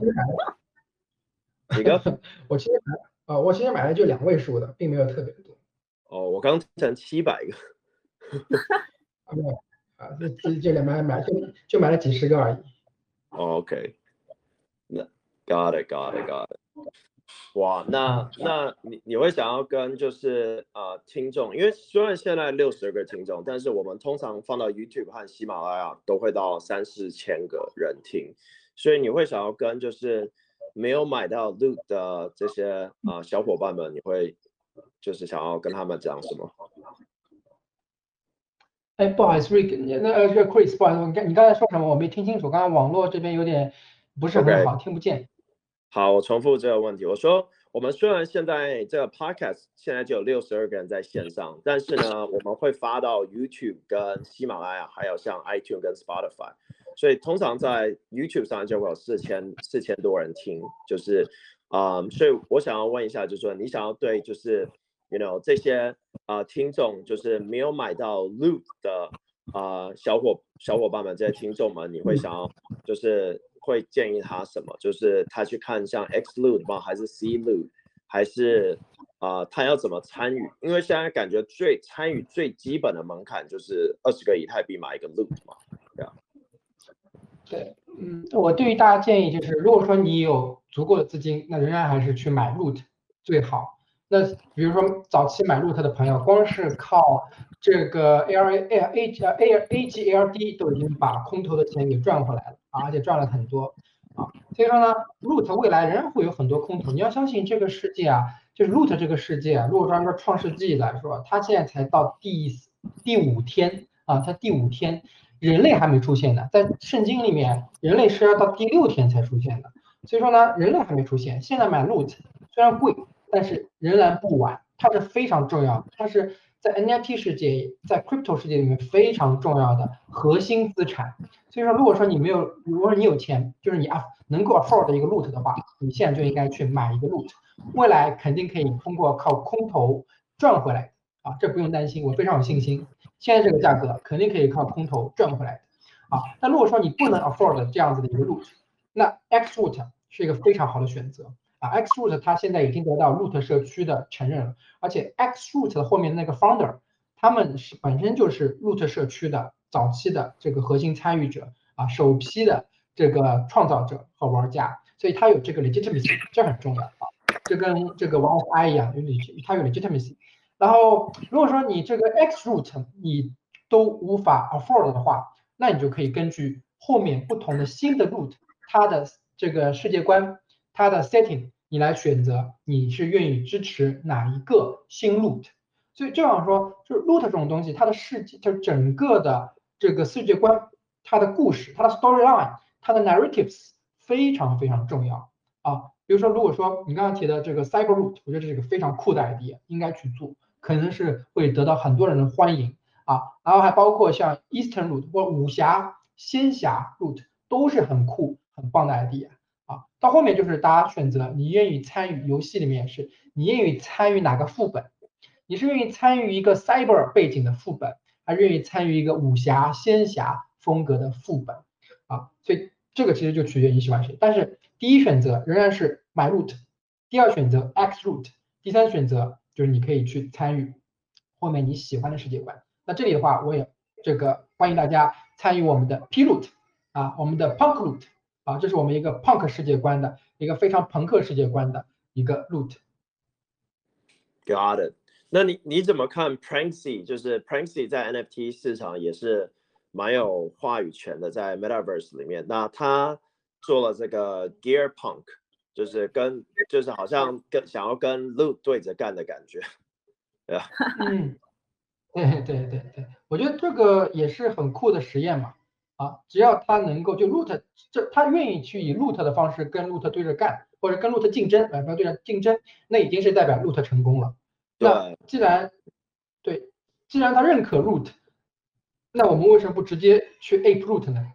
幾個？ 我其實買了就2位數的，並沒有特別多。 我剛成700個。 沒有就買了幾十個而已。 OK， 那 got it。哇，那你會想要跟就是聽眾，因為雖然現在60個聽眾，但是我們通常放到 YouTube 和喜馬拉雅都會到3-4千個人聽，所以你會想要跟就是沒有買到 loot 的這些小夥伴們，你會就是想要跟他們講什麼？ 不好意思 Rick 這個 Chris 不好意思你剛才說什麼我沒聽清楚剛剛網絡這邊有點不是很好聽不見好我重複這個問題我說我們雖然現在這個 podcast 現在就有62個人在線上但是呢我們會發到 YouTube 跟喜馬拉雅還有像 iTunes 跟 Spotify 所以通常在 YouTube 上就會有4000多人聽就是所以我想要問一下就是說你想要對就是You know 這些聽眾就是沒有買到 loot 的小夥伴們這些聽眾們你會想要就是會建議他什麼就是他去看像 X loot 嗎還是 C loot 還是他要怎麼參與因為現在感覺參與最基本的門檻就是20個以太幣買一個 loot 嘛對我對於大家建議就是如果說你有足夠的資金那仍然還是去買 loot 最好那比如說早期買 loot 的朋友光是靠這個 AGLD 都已經把空投的錢給賺回來了而且賺了很多所以說呢 loot 未來仍然會有很多空投你要相信這個世界就是 loot 這個世界如果說按照創世紀來說它現在才到第5天它第5天人類還沒出現呢在聖經裡面人類是要到第6天才出現的所以說呢人類還沒出現現在買 loot 雖然貴但是仍然不晚它是非常重要的它是在 NFT 世界在 crypto 世界裡面非常重要的核心資產所以說如果說你有錢就是你能夠 afford 的一個 loot 的話你現在就應該去買一個 loot 未來肯定可以通過靠空投賺回來這不用擔心我非常有信心現在這個價格肯定可以靠空投賺回來的但如果說你不能 afford 這樣子的一個 loot 那 X root 是一個非常好的選擇X root 它現在已經得到 root 社區的承認了而且 X root 的後面那個 founder 他们本身就是 root 社区的早期的这个核心参与者啊，首批的这个创造者和玩家，所以它有这个 legitimacy， 这很重要啊。这跟这个 one of I 一样，它有 legitimacy。然後如果說你這個 X root 你都無法 afford 的話，那你就可以根據後面不同的新的 root， 它的這個世界觀，它的 setting， 你來選擇你是願意支持哪一個新 root。所以這樣說，就是 root 這種東西，它的世界就整個的這個世界觀，它的故事，它的 storyline， 它的 narratives 非常非常重要啊。比如說，如果說你剛剛提的這個 cyber root， 我覺得這是一個非常酷的 idea， 應該去做，可能是會得到很多人的歡迎啊。然後還包括像 Eastern root 或武俠、仙俠 root 都是很酷、很棒的 idea 啊。到後面就是大家選擇你願意參與遊戲裡面是，你願意參與哪個副本？你是願意參與一個 cyber 背景的副本，還是願意參與一個武俠、仙俠風格的副本啊？所以這個其實就取決於你喜歡誰。但是第一選擇仍然是 my root， 第二選擇 X root， 第三選擇就是你可以去參與後面你喜歡的世界觀。那這裡的話，我也這個歡迎大家參與我們的 P root 啊，我們的 punk root 啊，這是我們一個 punk 世界觀的一個非常朋克世界觀的一個 root。Got it。那你怎麼看 Pranksy？ 就是 Pranksy 在 NFT 市場也是蠻有話語權的，在 Metaverse 裡面。那他做了這個 Gear Punk， 就是好像想要跟 Loot 對着幹的感覺。對啊。 對，我覺得這個也是很酷的實驗嘛。啊，只要他能夠就 Loot， 他願意去以 Loot 的方式跟 Loot 對着幹，或者跟 Loot 競爭，不要對着競爭，那已經是代表 Loot 成功了。那既然他認可 root， 那我們為什麼不直接去 ape root 呢？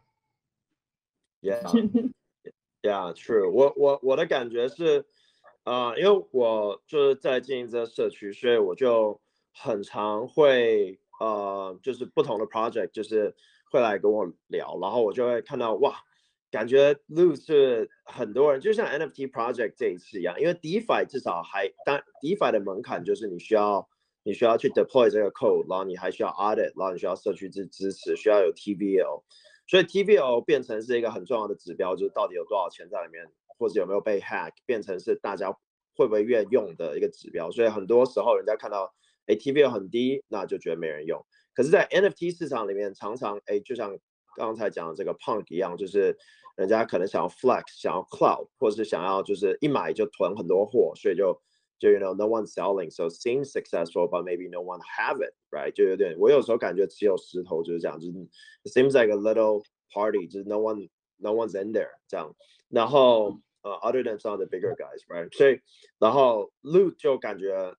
Yeah, true。我的感覺是，因為我就是在經營這個社區，所以我就很常會就是不同的 project 就是會來跟我聊，然後我就會看到哇，感覺 Loot 是很多人，就像 NFT project 這一次一樣，因為 DeFi 至少當 DeFi 的門檻就是你需要去 deploy 這個 code， 然後你還需要 audit， 然後你需要社區支持，需要有 TVL， 所以 TVL 變成是一個很重要的指標，就是到底有多少錢在裡面，或者有沒有被 hack， 變成是大家會不會願意用的一個指標。所以很多時候人家看到TVL 很低，那就覺得沒人用。可是，在 NFT 市場裡面，常常就像剛才講的這個 Punk 一樣，就是人家可能想要 Flex， 想要 Cloud， 或者是想要就是一買就囤很多貨，所以就 you know no one selling， so seems successful but maybe no one have it， right？ 就有點我有時候感覺持有石頭就是這樣，就是 it seems like a little party， 就是 no one's in there 這樣。然後other than some of the bigger guys，right？ 所以然後 Loot 就感覺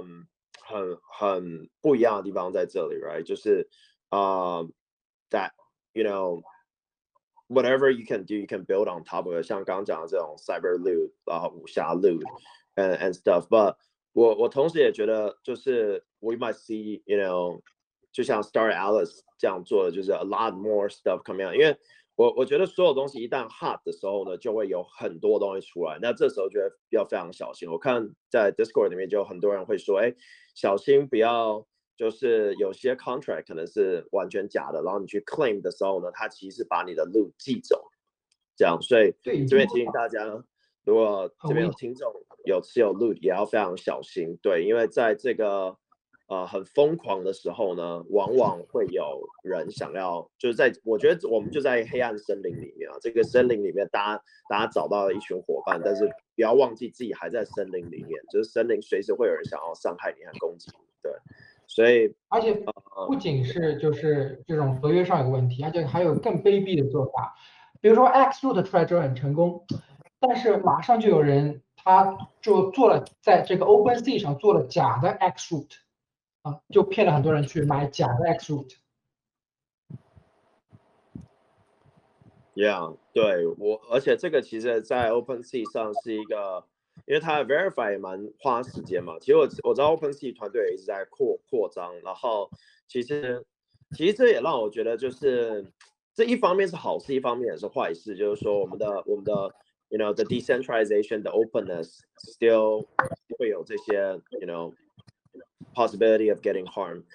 很不一樣的地方在這裡 ，right？ 就是that you know whatever you can do, you can build on top of it。像剛剛講的這種 cyber loot， 然後武俠 loot and stuff。But 我同時也覺得，就是 we might see you know， 就像 Star Alice 這樣做的，就是 a lot more stuff coming out。因為我覺得所有東西一旦 hot 的時候呢，就會有很多東西出來。那這時候就要非常小心。我看在 Discord 裡面就有很多人會說，小心不要，就是有些 contract 可能是完全假的，然後你去 claim 的時候呢，它其實是把你的 loot 寄走，這樣。所以這邊提醒大家，如果這邊有聽眾有持有 loot， 也要非常小心。對，因為在這個很瘋狂的時候呢，往往會有人想要，就是我覺得我們就在黑暗森林裡面啊，這個森林裡面大家找到了一群夥伴，但是不要忘記自己還在森林裡面，就是森林隨時會有人想要傷害你和攻擊你，對，所以而且不僅是就是這種合約上有個問題，而且還有更卑鄙的做法，比如說 X root 出來之後很成功，但是馬上就有人他就做了在這個 OpenSea 上做了假的 X root。就騙了很多人去買假的 X root。 Yeah， 對而且這個其實，在 OpenSea 上是一個，因為它 verify 也蠻花時間嘛。其實我知道 OpenSea 團隊也一直在擴張，然後其實這也讓我覺得，就是這一方面是好事，一方面也是壞事，就是說我們的 you know the decentralization, the openness still 會有這些 you know possibility of getting harmed,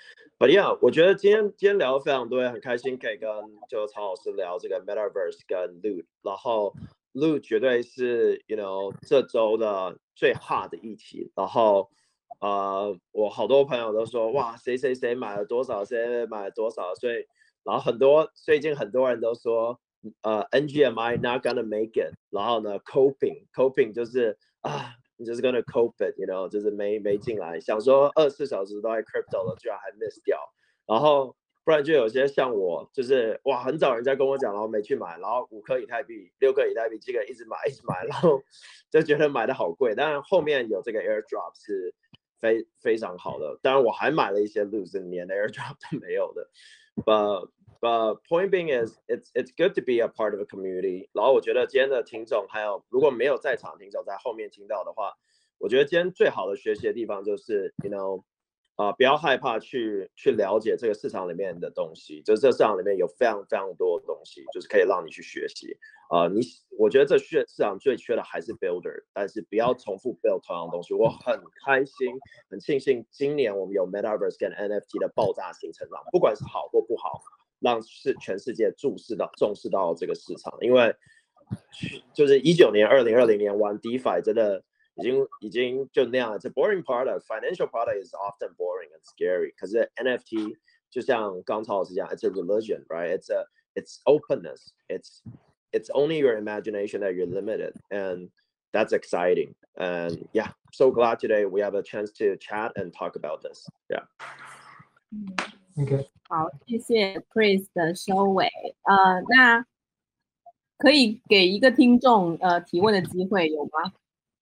But yeah， 我覺得今天聊得非常多，很開心可以跟就曹老師聊這個 Metaverse 跟 Loot， 然後 Loot 絕對是 這週的最 hot 的議題，然後我好多朋友都說哇誰買了多少，誰買了多少，所以然後最近很多人都說NGMI not gonna make it， 然後呢 coping 就是你就是 gonna cope it， 就是沒進來，想說24小時都在 crypto 了，居然還 miss 掉，然後不然就有些像我，就是哇很早人家跟我講，然後沒去買，然後5顆以太幣、6顆以太幣，這個一直買，然後就覺得買的好貴，但是後面有這個 airdrop 是非常好的，當然我還買了一些 loot 連 airdrop 都沒有的 but point being is it's good to be a part of a community， 然後我覺得今天的聽眾還有如果沒有在場的聽眾在後面聽到的話，我覺得今天最好的學習的地方就是不要害怕去了解這個市場裡面的東西，就是這個市場裡面有非常非常多的東西，就是可以讓你去學習。我覺得這市場最缺的還是 builder， 但是不要重複 build 同樣的東西。我很開心，很慶幸今年我們有 Metaverse 跟 NFT 的爆炸性成長，不管是好或不好，讓全世界重視到這個市場。因為就是19年、2020年玩 DeFi 真的。已經就那樣，it's a boring product. Financial product is often boring and scary. 可是 NFT 就像剛曹老師講 ，it's a religion, right? It's openness. It's only your imagination that you're limited, and that's exciting. And yeah, so glad today we have a chance to chat and talk about this. Yeah. Okay. 好，謝謝 Chris 的收尾。那可以給一個聽眾提問的機會，有嗎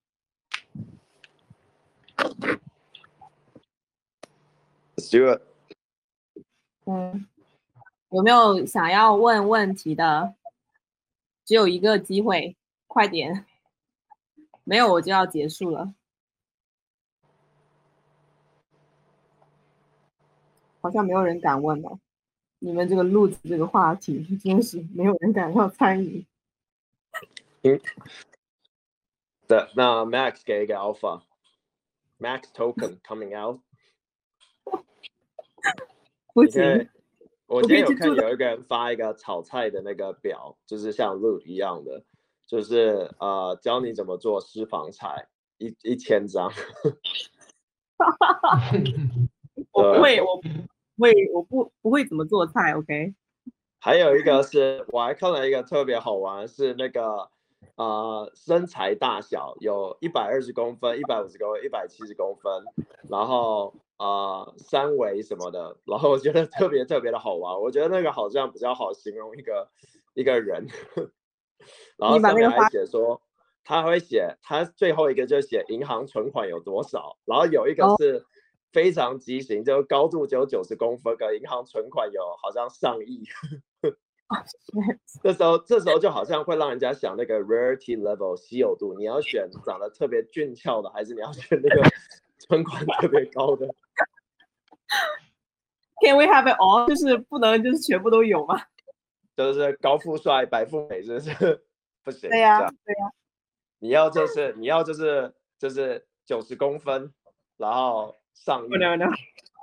？Let's do it. 有沒有想要問問題的？只有一個機會，快點！沒有我就要結束了。好像沒有人敢問了。你們這個路子這個話題，真是沒有人敢要參與。 那 Max 給一個 Alpha。Max token coming out 不行， 我今天有看有一個人發一個炒菜的那個表，就是像 Loot 一樣的，就是教你怎麼做私房菜，1000張。 我不會怎麼做菜 ，OK。 還有一個是我還看了一個特別好玩，是那個。身材大小有120公分、150公分、170公分，然後三圍什麼的，然後我覺得特別的好玩。我覺得那個好像比較好形容一個人。然後上面還寫說，他會寫他最後一個就寫銀行存款有多少，然後有一個是非常畸形，就高度只有90公分，跟銀行存款有好像上億。這時候就好像會讓人家想那個 rarity level 稀有度，你要選長得特別俊俏的，還是你要選那個存款特別高的 ？Can we have it all？ 就是不能就是全部都有嗎？ 就是高富帥、白富美，是不是？不行。 對呀。 你要就是90公分，然後上億。 No.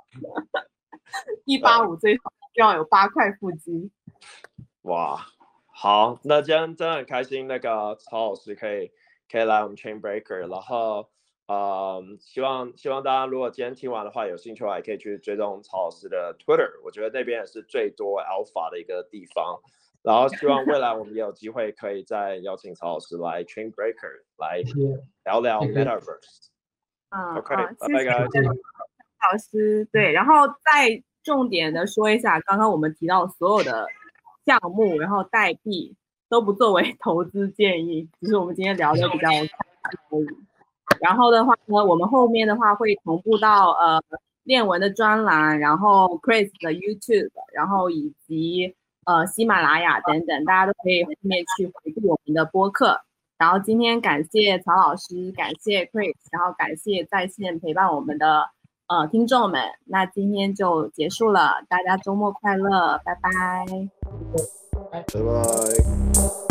185最好要有8塊腹肌。 哇，好，那今天真的很開心，那個曹老師可以來我們 Chain Breaker， 然後希望大家如果今天聽完的話有興趣的話，也可以去追蹤曹老師的 Twitter， 我覺得那邊也是最多 Alpha 的一個地方。然後希望未來我們也有機會可以再邀請曹老師來 Chain Breaker 來聊聊 Metaverse。OK， 拜拜，各位。 老師，對，然後再重點的說一下，剛剛我們提到所有的項目，然後代幣都不作為投資建議，只是我們今天聊的比較可以。然後的話呢，我們後面的話會同步到鏈文的專欄，然後 Chris 的 YouTube， 然後以及喜馬拉雅等等，大家都可以後面去回顧我們的播客。然後今天感謝曹老師，感謝 Chris， 然後感謝在線陪伴我們的聽眾們。那今天就結束了，大家周末快樂，拜拜。 拜拜。